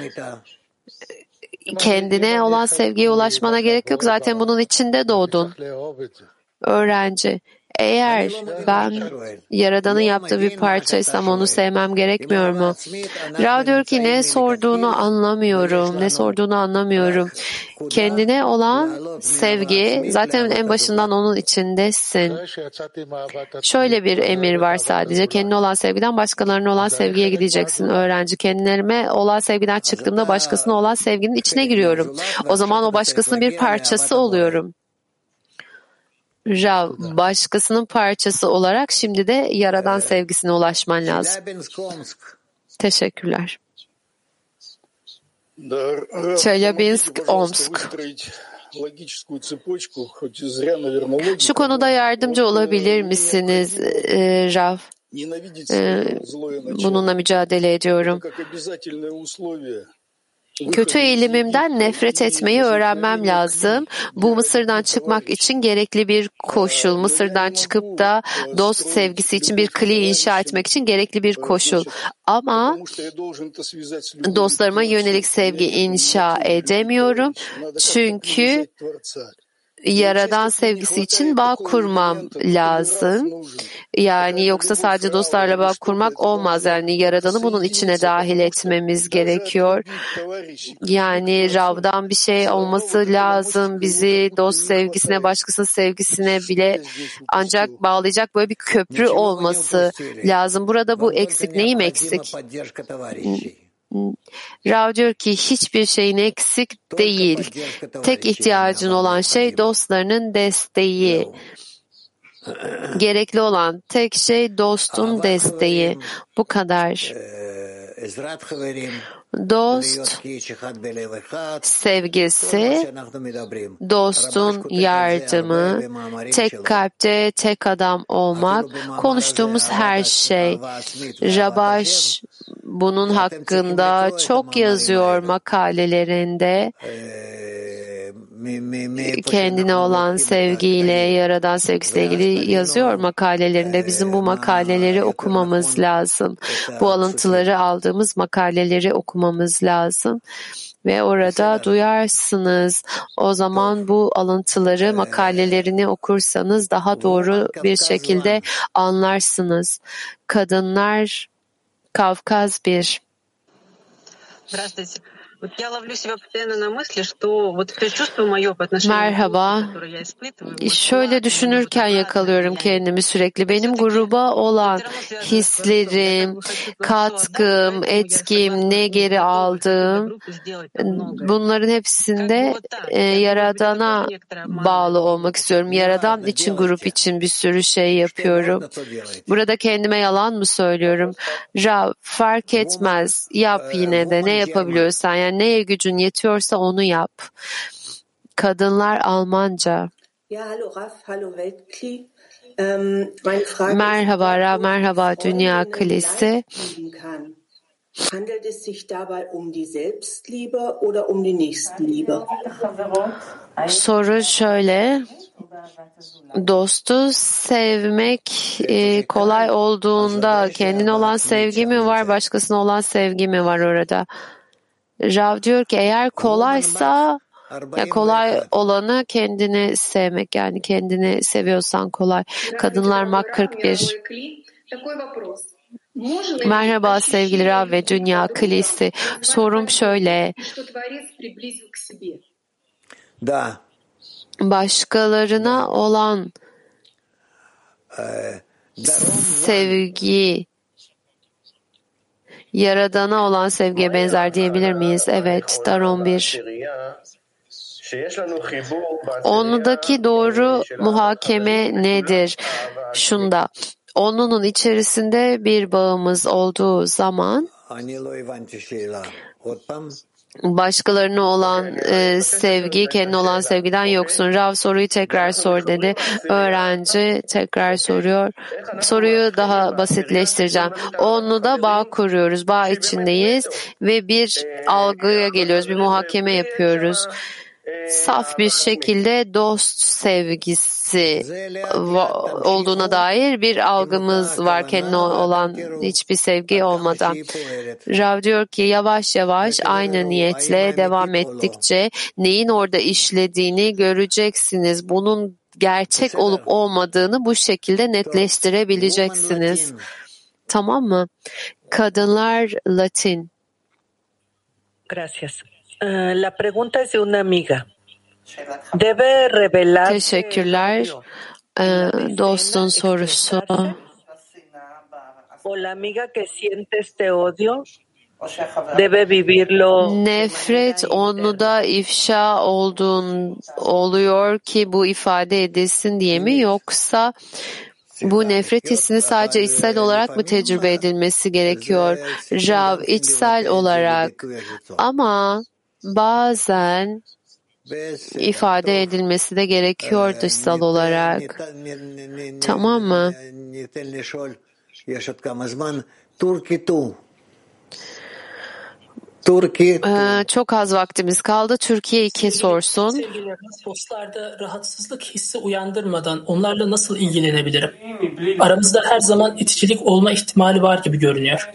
Kendine olan sevgiye ulaşmana gerek yok. Zaten bunun içinde doğdun. Öğrenci. Eğer ben Yaradan'ın yaptığı bir parçaysam onu sevmem gerekmiyor mu? Rav diyor ki ne sorduğunu anlamıyorum. Kendine olan sevgi, zaten en başından onun içindesin. Şöyle bir emir var sadece. Kendine olan sevgiden başkalarına olan sevgiye gideceksin öğrenci. Kendime olan sevgiden çıktığımda başkasına olan sevginin içine giriyorum. O zaman o başkasının bir parçası oluyorum. Rav, başkasının parçası olarak şimdi de Yaradan sevgisine ulaşman lazım. Teşekkürler. Çelyabinsk, Omsk. Şu konuda yardımcı olabilir misiniz Rav? Bununla mücadele ediyorum. Kötü eğilimimden nefret etmeyi öğrenmem lazım. Bu Mısır'dan çıkmak için gerekli bir koşul. Mısır'dan çıkıp da dost sevgisi için bir kli inşa etmek için gerekli bir koşul. Ama dostlarıma yönelik sevgi inşa edemiyorum. Çünkü Yaradan sevgisi için bağ kurmam lazım. Yani yoksa sadece dostlarla bağ kurmak olmaz. Yani Yaradan'ı bunun içine dahil etmemiz gerekiyor. Yani Rav'dan bir şey olması lazım. Bizi dost sevgisine, başkasının sevgisine bile ancak bağlayacak böyle bir köprü olması lazım. Burada bu eksik. Neyim eksik? Rav diyor ki hiçbir şeyin eksik değil. Tek ihtiyacın olan şey dostlarının desteği. Gerekli olan tek şey dostun desteği. Bu kadar. Dost sevgisi, dostun yardımı, tek kalpte tek adam olmak, konuştuğumuz her şey. Rabash bunun hakkında çok yazıyor makalelerinde. Kendine olan sevgiyle, Yaradan sevgisiyle ilgili yazıyor makalelerinde. Bizim bu makaleleri okumamız lazım. Bu alıntıları aldığımız makaleleri okumamız lazım. Ve orada duyarsınız. O zaman bu alıntıları, makalelerini okursanız daha doğru bir şekilde anlarsınız. Kadınlar Kavkaz 1. Merhaba. Şöyle düşünürken yakalıyorum kendimi sürekli. Benim gruba olan hislerim, katkım, etkim, ne geri aldığım, bunların hepsinde Yaradan'a bağlı olmak istiyorum. Yaradan için, grup için bir sürü şey yapıyorum. Burada kendime yalan mı söylüyorum? Rav, fark etmez. Yap yine de. Ne yapabiliyorsan, yani neye gücün yetiyorsa onu yap. Kadınlar Almanca. Merhaba Rav, merhaba Dünya Klisi. Handelt es sich dabei um die Selbstliebe oder um die Nächstenliebe? Soru şöyle. Dostu sevmek kolay olduğunda kendine olan sevgi mi var, başkasına olan sevgi mi var orada? Rav diyor ki eğer kolaysa, ya kolay olanı kendini sevmek, yani kendini seviyorsan kolay. Kadınlar Mak 41. Merhaba sevgili Rav ve Dünya Klisi. Sorum şöyle. Başkalarına olan sevgi Yaradan'a olan sevgiye benzer diyebilir miyiz? Evet, Daron 1. Onudaki doğru muhakeme nedir? Şunda, onunun içerisinde bir bağımız olduğu zaman başkalarına olan sevgi, kendine olan sevgiden yoksun. Rav soruyu tekrar sor dedi. Öğrenci tekrar soruyor. Soruyu daha basitleştireceğim. Onunla da bağ kuruyoruz. Bağ içindeyiz ve bir algıya geliyoruz. Bir muhakeme yapıyoruz. Saf bir şekilde dost sevgisi olduğuna dair bir algımız var, kendine olan hiçbir sevgi olmadan. Rav diyor ki yavaş yavaş aynı niyetle devam ettikçe neyin orada işlediğini göreceksiniz. Bunun gerçek olup olmadığını bu şekilde netleştirebileceksiniz. Tamam mı? Kadınlar Latin. Gracias. La pregunta es de una amiga. Debe revelar. Teşekkürler. Dostun sorusu. O la amiga que siente este odio debe vivirlo. Nefret onu da ifşa oluyor ki bu ifade edilsin diye mi, yoksa bu nefret hissini sadece içsel olarak mı tecrübe edilmesi gerekiyor? Rav, içsel olarak, ama bazen ifade edilmesi de gerekiyor dışsal olarak. Tamam mı? Çok az vaktimiz kaldı. Türkiye 2 sorsun. Sevgililerimiz dostlarda rahatsızlık hissi uyandırmadan onlarla nasıl ilgilenebilirim? Aramızda her zaman iticilik olma ihtimali var gibi görünüyor.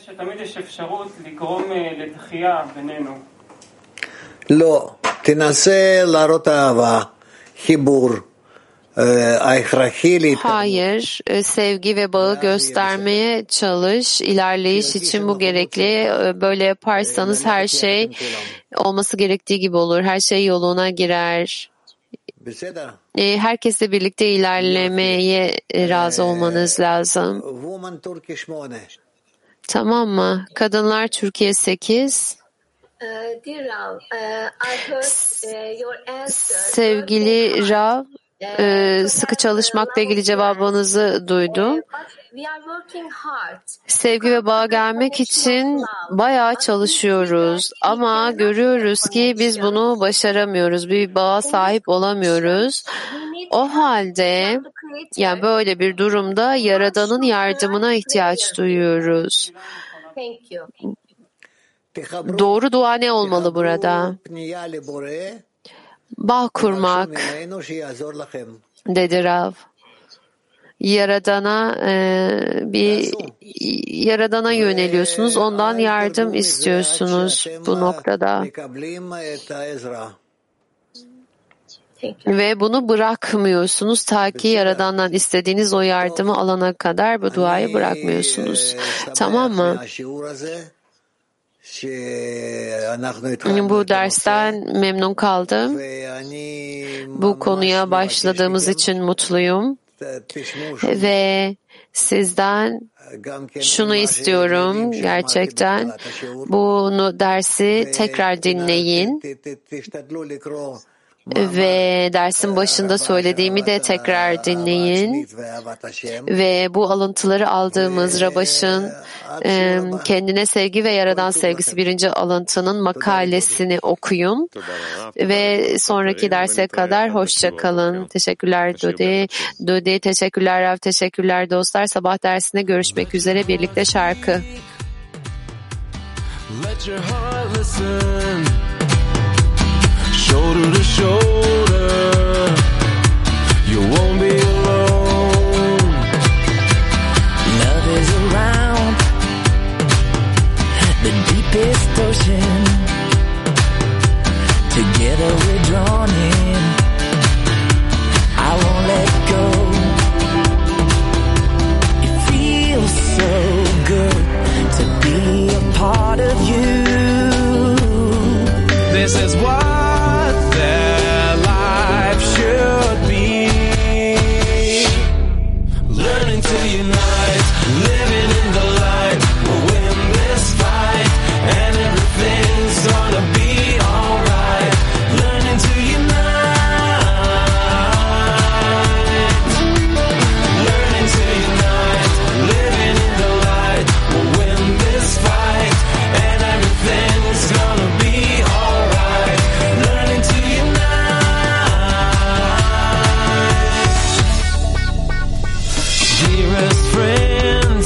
לא, תנסה להראות אהבה, חיבור, ההכרחי להתקדמות. Hayır, sevgi ve bağı göstermeye çalış. İlerleyiş için bu gerekli. Böyle yaparsanız her şey olması gerektiği gibi olur. Her şey yoluna girer. Herkesle birlikte ilerlemeye razı olmanız lazım. Tamam mı? Kadınlar Türkiye 8. Sevgili Rav, sıkı çalışmakla ilgili cevabınızı duydum. Sevgi ve bağa gelmek için bayağı çalışıyoruz ama görüyoruz ki biz bunu başaramıyoruz. Bir bağa sahip olamıyoruz. O halde yani böyle bir durumda Yaradan'ın yardımına ihtiyaç duyuyoruz. Doğru dua ne olmalı burada? Bağ kurmak, dedi Rav. Yaradan'a yöneliyorsunuz, ondan yardım istiyorsunuz bu noktada. Ve bunu bırakmıyorsunuz ta ki Yaradan'dan istediğiniz o yardımı alana kadar bu duayı bırakmıyorsunuz. Tamam mı? Bu dersten memnun kaldım. Bu konuya başladığımız için mutluyum. Ve sizden şunu istiyorum gerçekten. Bunu dersi tekrar dinleyin. Ve dersin başında söylediğimi de tekrar dinleyin. Ve bu alıntıları aldığımız Rabaş'ın kendine sevgi ve Yaradan sevgisi 1. alıntının makalesini okuyun. Ve sonraki derse kadar hoşça kalın. Teşekkürler Dodi, teşekkürler Rav, teşekkürler dostlar. Sabah dersinde görüşmek üzere, birlikte şarkı. Let your heart listen. Shoulder to shoulder, you won't be alone. Love is around the deepest ocean. Together we're drawn in. I won't let go. It feels so good to be a part of you. This is what their life should be. Learning to unite, living in the light. We'll win this fight, and everything's gonna be alright. Learning to unite, learning to unite, living in the light. We'll win this fight, and everything's gonna be alright. Learning to dearest friends,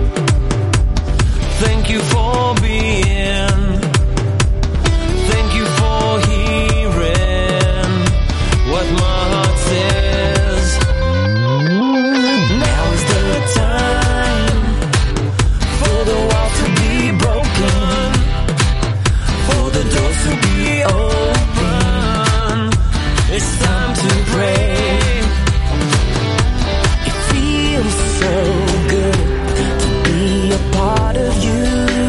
thank you for being, thank you for hearing what my heart says. Now is the time for the walls to be broken, for the doors to be open. It's time to pray. So good to be a part of you.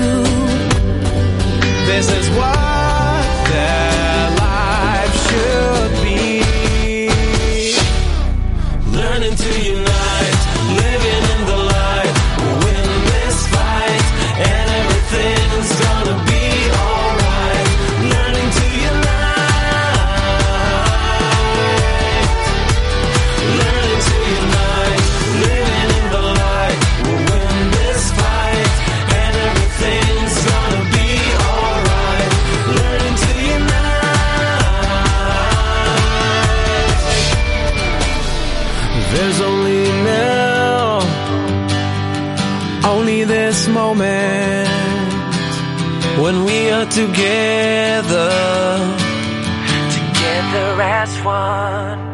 This is what their life should be. Learning to unite, living in the light. We'll win this fight, and everything's gonna be alright. Learning to unite, learning to unite, living in the light. We'll win this fight, and everything's gonna be alright. Learning to unite. There's only now, only this moment. when we are together as one.